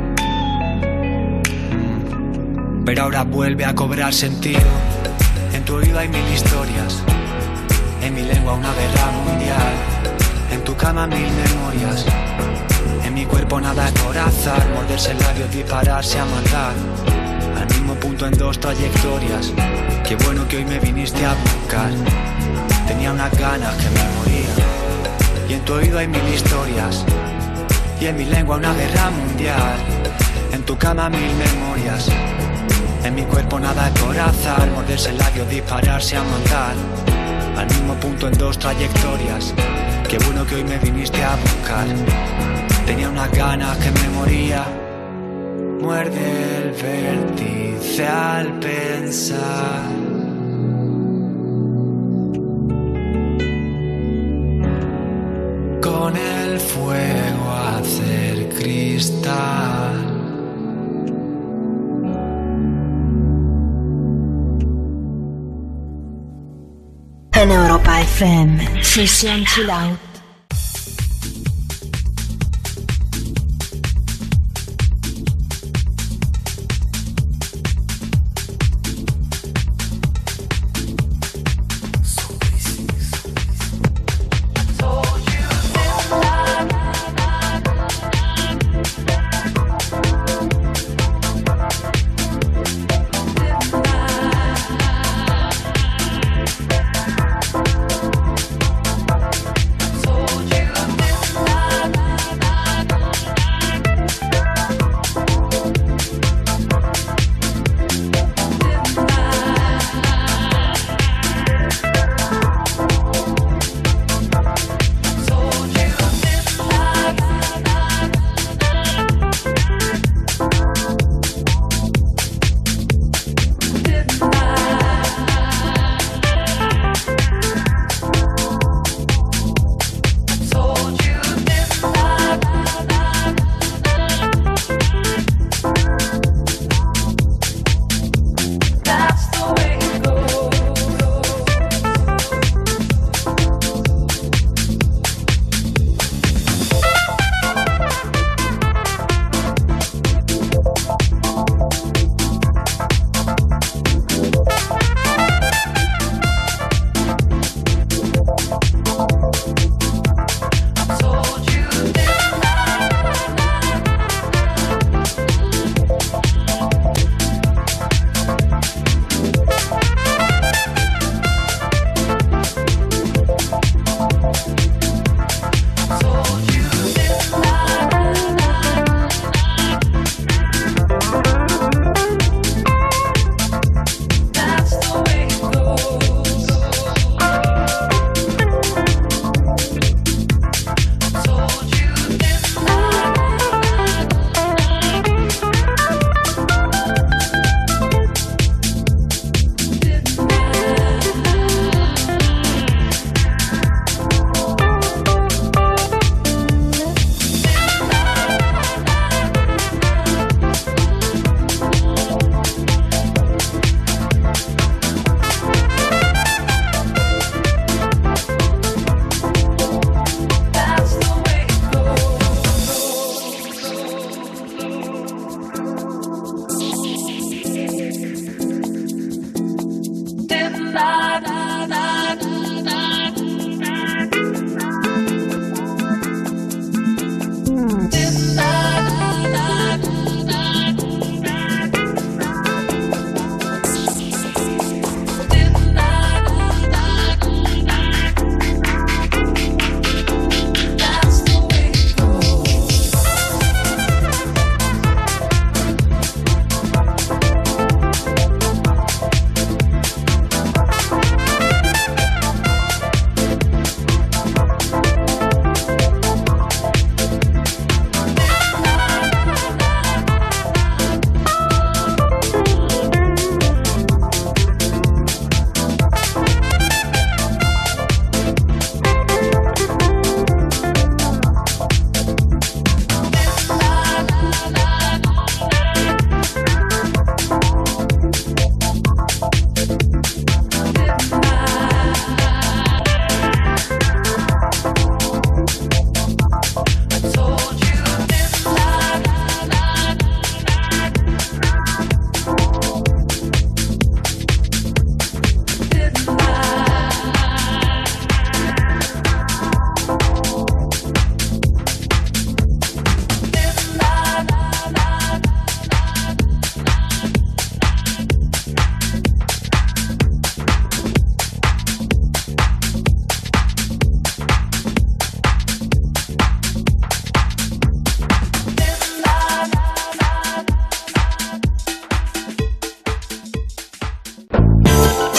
Pero ahora vuelve a cobrar sentido. En tu oído hay mil historias. En mi lengua una guerra mundial. En tu cama mil memorias. En mi cuerpo nada es por azar. Morderse el labio, dispararse a matar. Al mismo punto en dos trayectorias. Qué bueno que hoy me viniste a buscar. Tenía unas ganas que me moría. Y en tu oído hay mil historias. Y en mi lengua una guerra mundial. En tu cama mil memorias. En mi cuerpo nada es por azar. Morderse el labio, dispararse a matar. Al mismo punto en dos trayectorias. Qué bueno que hoy me viniste a buscar. Tenía unas ganas que me moría. Muerde el vértice al pensar. Con el fuego hacer cristal. En Europa FM, Sesión Chill Out. So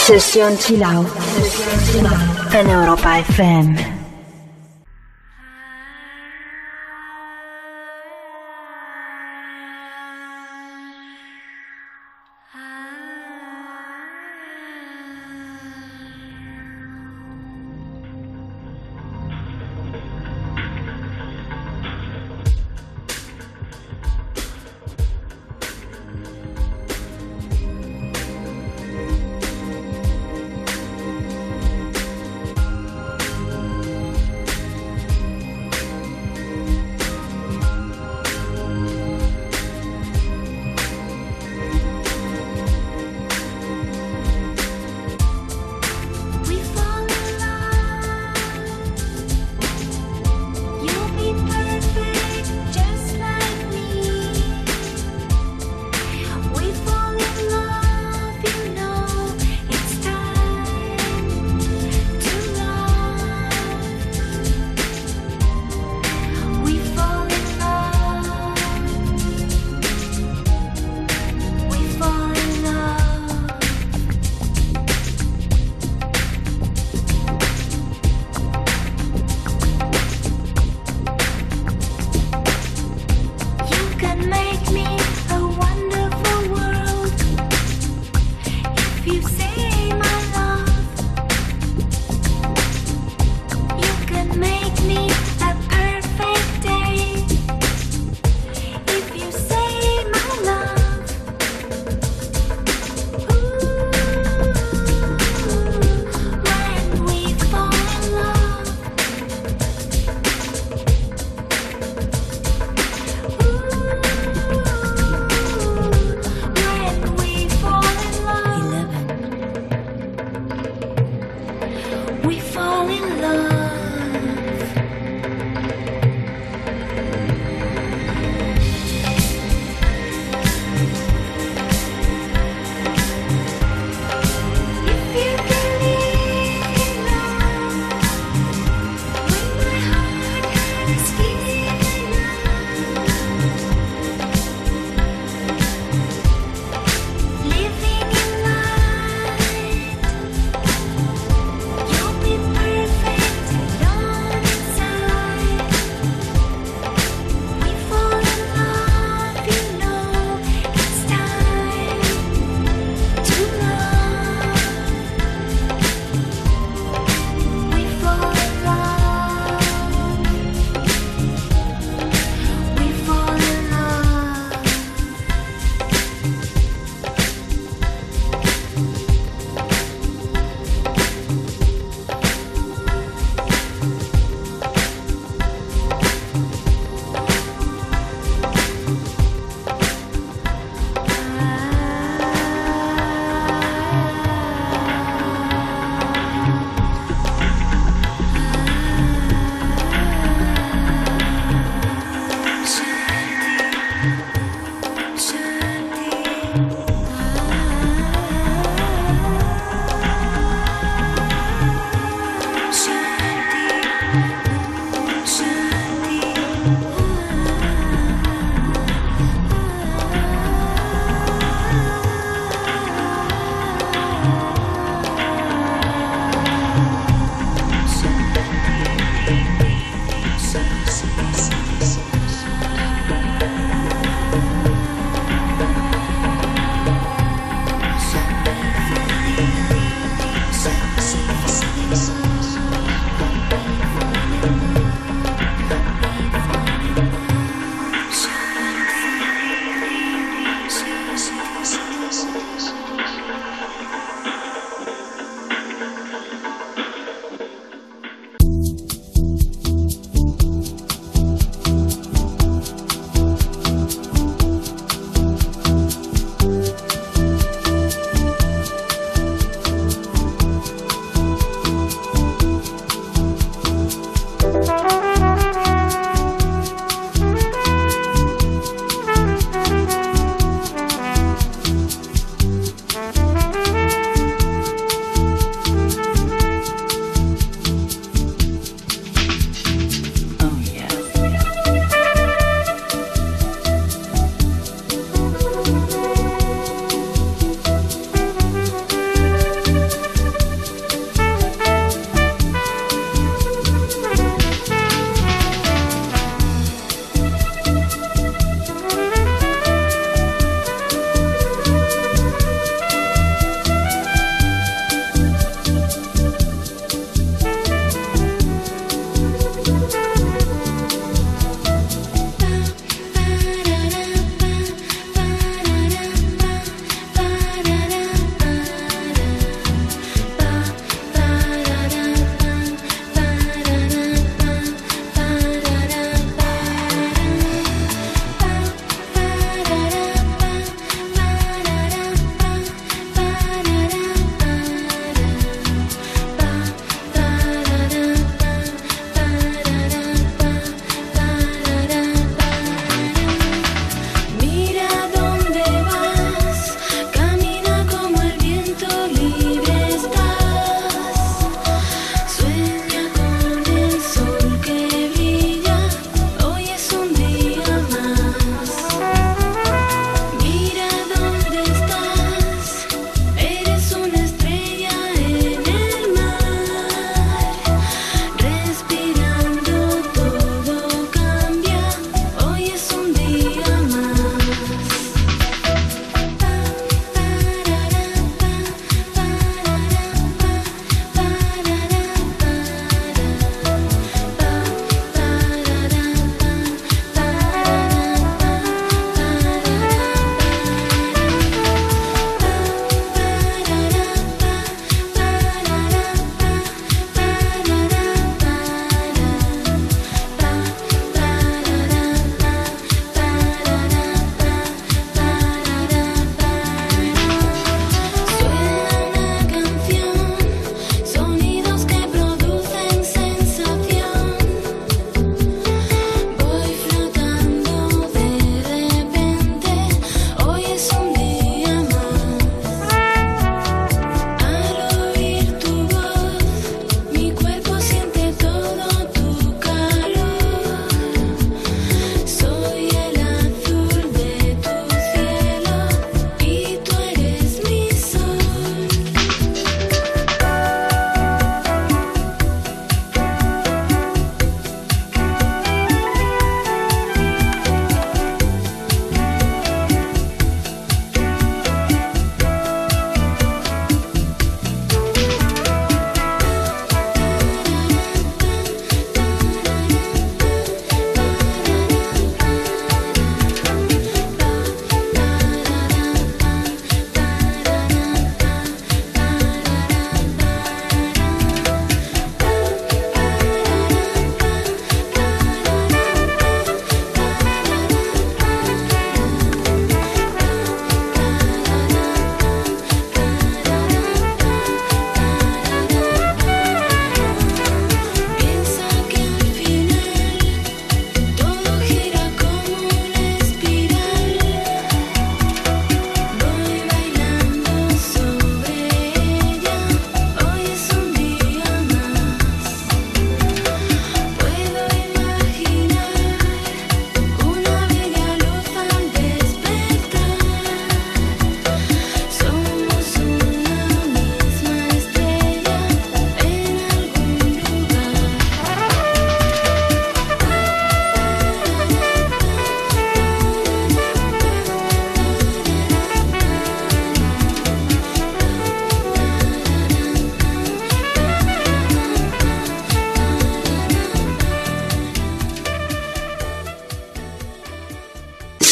Sesión Chill Out en Europa FM.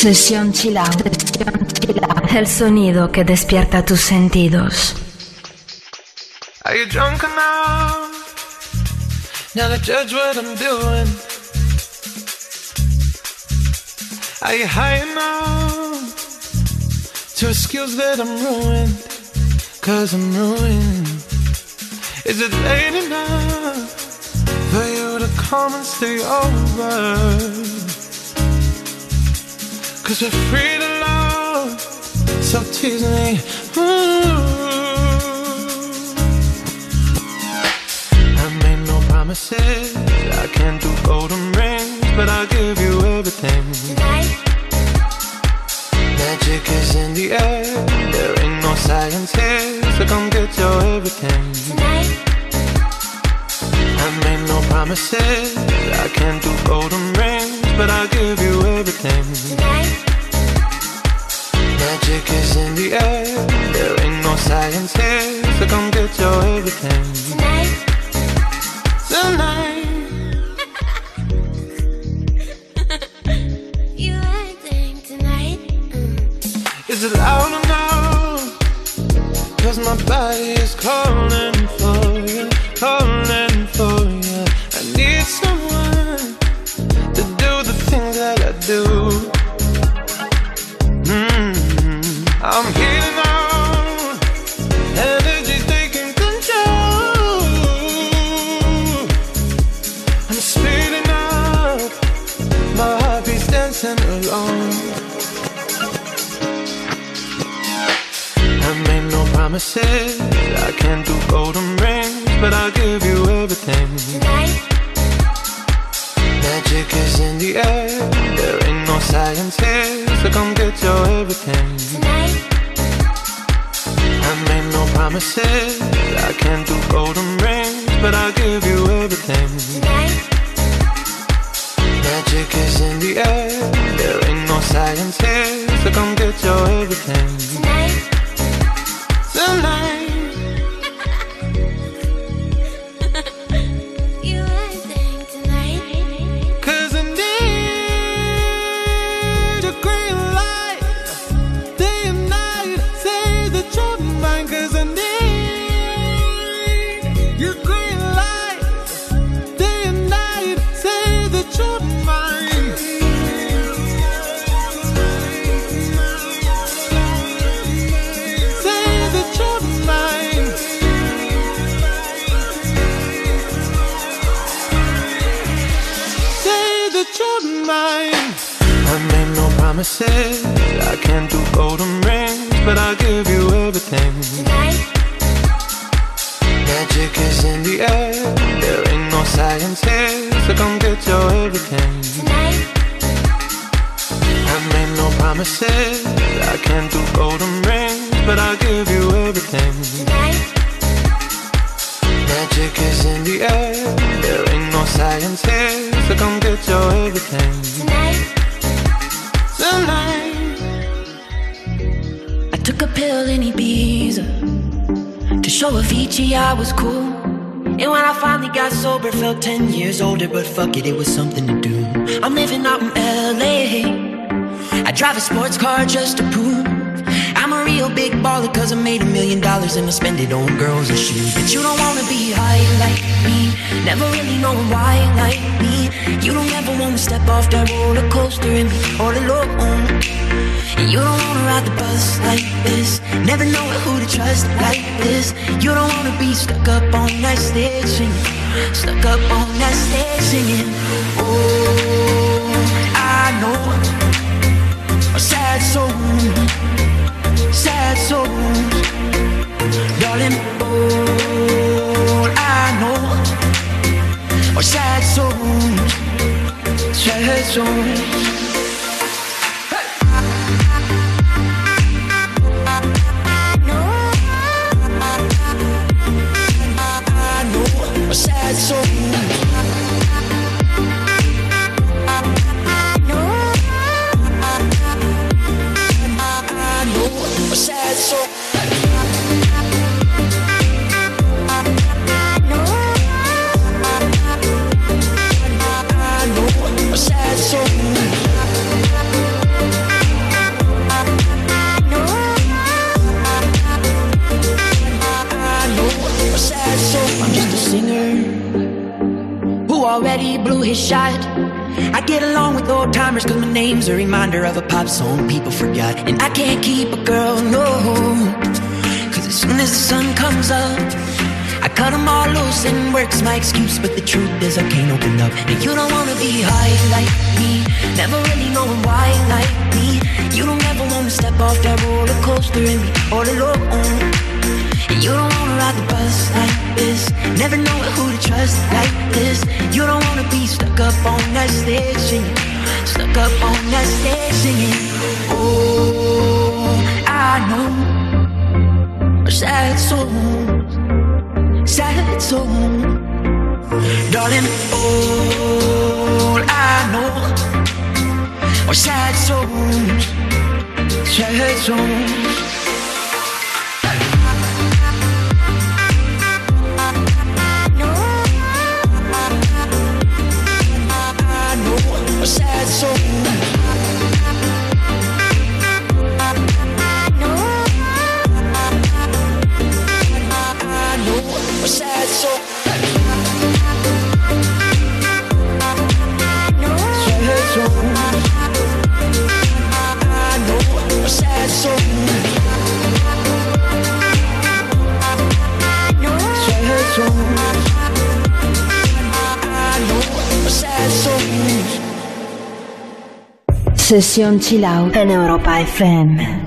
Sesión Chill Out. El sonido que despierta tus sentidos. Are you drunk enough now to judge what I'm doing? Are you high enough to excuse that I'm ruined? 'Cause I'm ruined. Is it late enough for you to come and stay over? 'Cause we're free to love, so tease me. I made no promises, I can't do golden rings, but I'll give you everything. Magic is in the air, there ain't no science here, so come get your everything. I made no promises, I can't do golden rings, but I'll give you everything. Magic is in the air, there ain't no science here, so come get your everything. Tonight. You acting tonight? Is it loud enough? 'Cause my body is calling for you, calling for you. I need someone to do the things that I do. I'm healing out, energy's taking control. I'm speeding up, my heartbeat's dancing alone. I made no promises, I can't do golden rings, but I'll give you everything. Magic is in the air, there ain't no science here, so come get your everything. I made no promises, I can't do golden rings, but I'll give you everything. Magic is in the air, there ain't no science here, so come get your everything. Tonight. You acting tonight? 'Cause I need a green light, day and night, say that you're mine. 'Cause I need your green light, day and night, say that you're mine. Say that you're mine. Say that you're mine. I made no promises, I can't do golden rings, but I'll give you everything. Magic is in the air, there ain't no science here, so come get your everything. I made no promises, I can't do golden rings, but I'll give you everything. Magic is in the air, there ain't no science here, so come get your everything. Tonight. I took a pill in Ibiza to show Avicii I was cool. And when I finally got sober, felt 10 years older, but fuck it, it was something to do. I'm living out in LA, I drive a sports car just to prove I'm a real big baller, 'cause I made $1 million and I spend it on girls and shoes. But you don't wanna be high like me, never really knowing why like me. You don't ever wanna step off that roller coaster and be all alone. And you don't wanna ride the bus like this, never know who to trust like this. You don't wanna be stuck up on that stage singing, stuck up on that stage singing. Oh, I know a sad soul, sad souls, darling. All I know are sad souls, sad souls. Sad soul. A sad soul. I know a sad soul. already blew his shot. I get along with old timers cause my name's a reminder of a pop song people forgot. And I can't keep a girl, no, cause as soon as the sun comes up, I cut them all loose and work's my excuse. But the truth is I can't open up. And you don't wanna be high like me, never really knowing why like me. You don't ever wanna step off that roller coaster and be all alone. And you don't wanna ride the bus like this, never knowing who to trust like this. You don't wanna be stuck up on that stage singing, stuck up on that stage singing. Oh, I know sad songs, sad songs, darling. All I know are sad songs, sad songs. A sad soul. I know a sad soul. Sad soul. I know a sad soul. Sad soul. I know a sad soul. Sesión Chill Out en Europa FM.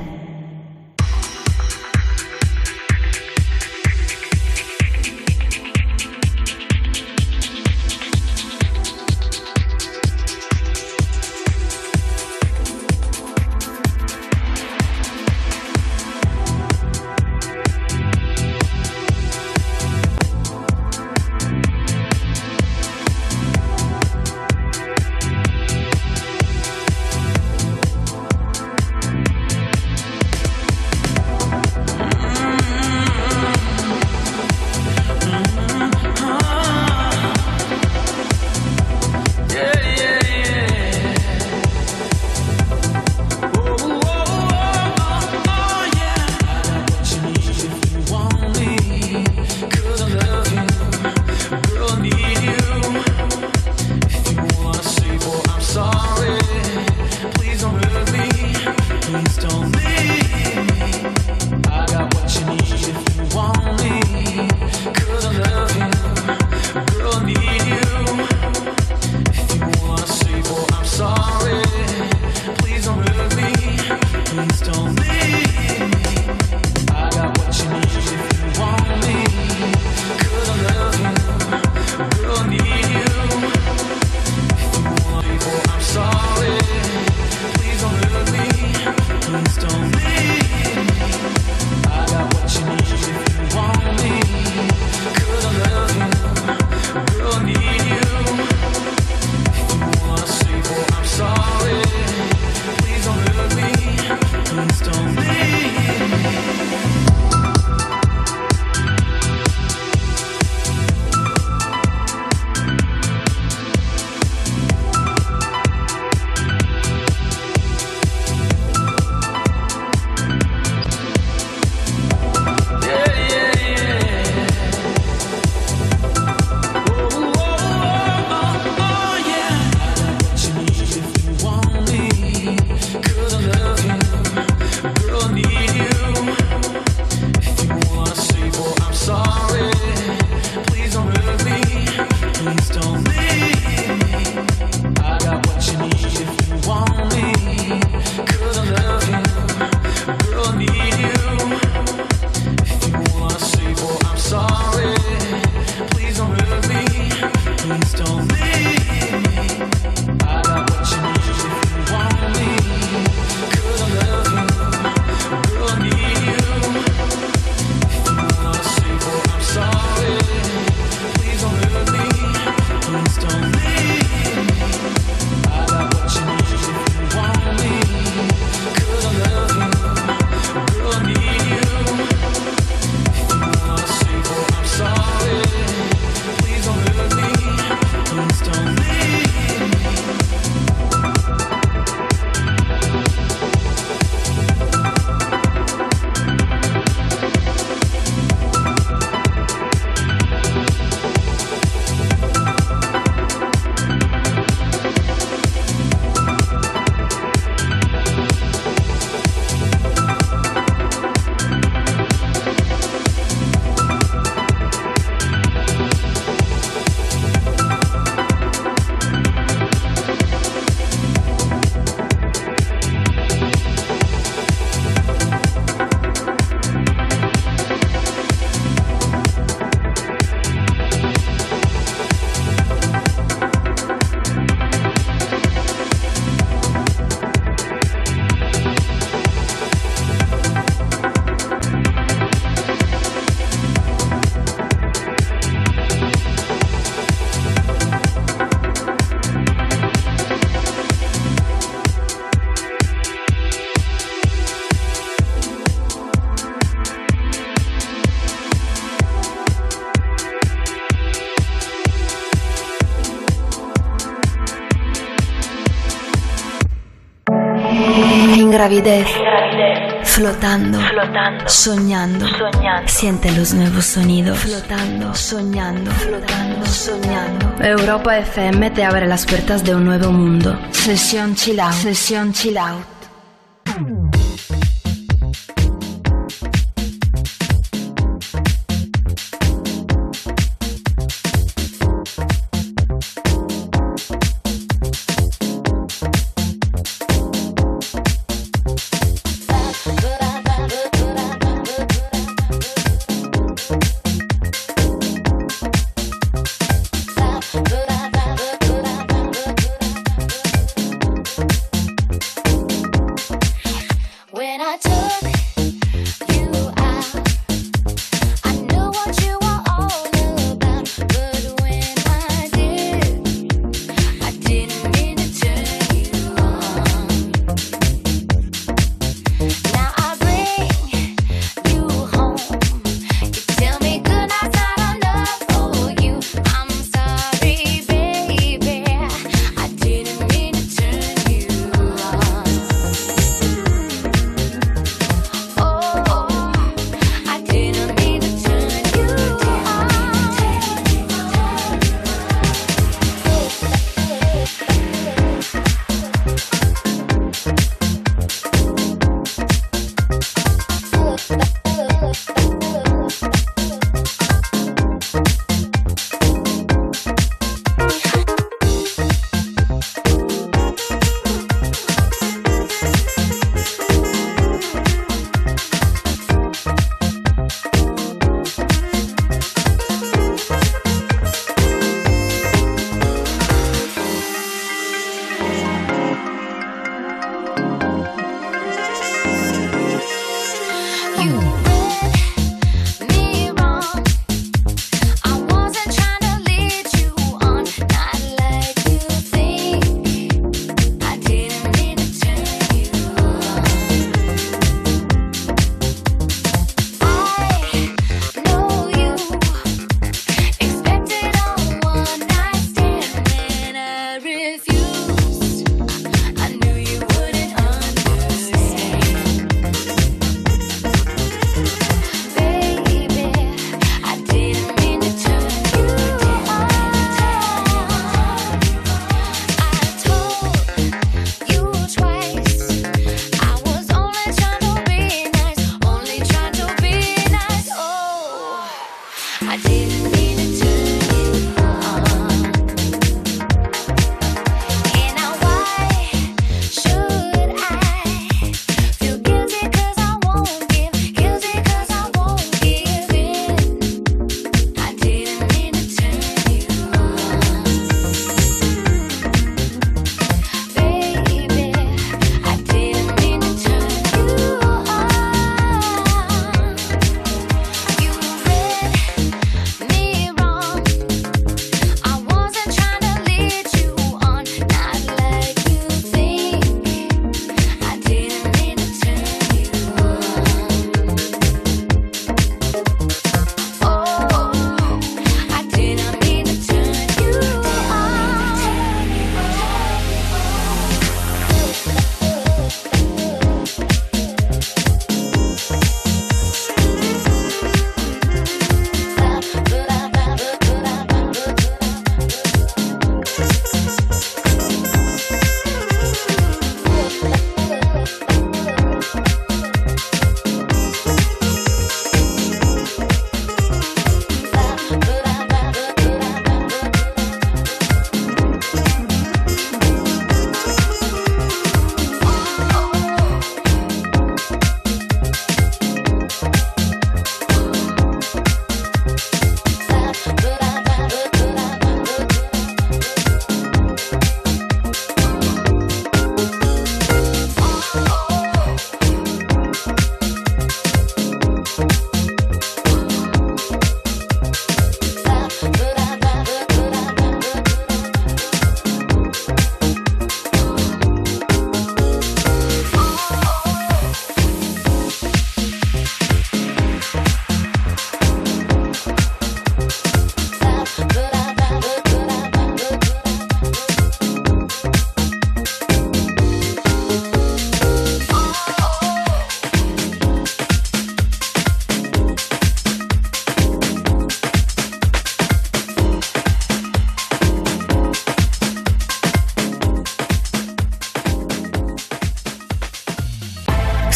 gravidez, flotando, soñando, siente los nuevos sonidos, flotando, soñando, soñando. Europa FM te abre las puertas de un nuevo mundo. Sesión Chill Out, Sesión Chill Out.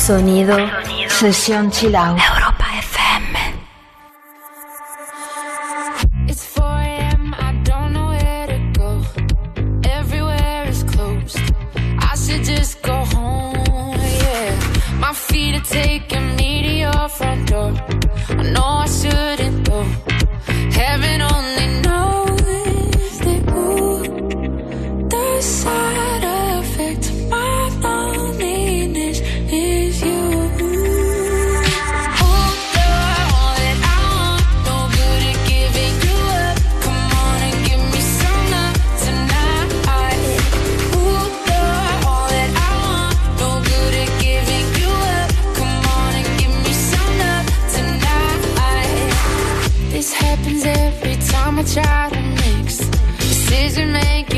sonido. Sesión Chill Out. Europa FM. It's 4 a.m., I don't know where to go. Everywhere is closed. I should just go home, yeah. My feet are taking me to your front door. I know I shouldn't go. Heaven only knows that, ooh, the side effect of my loneliness is you. I try to mix decision making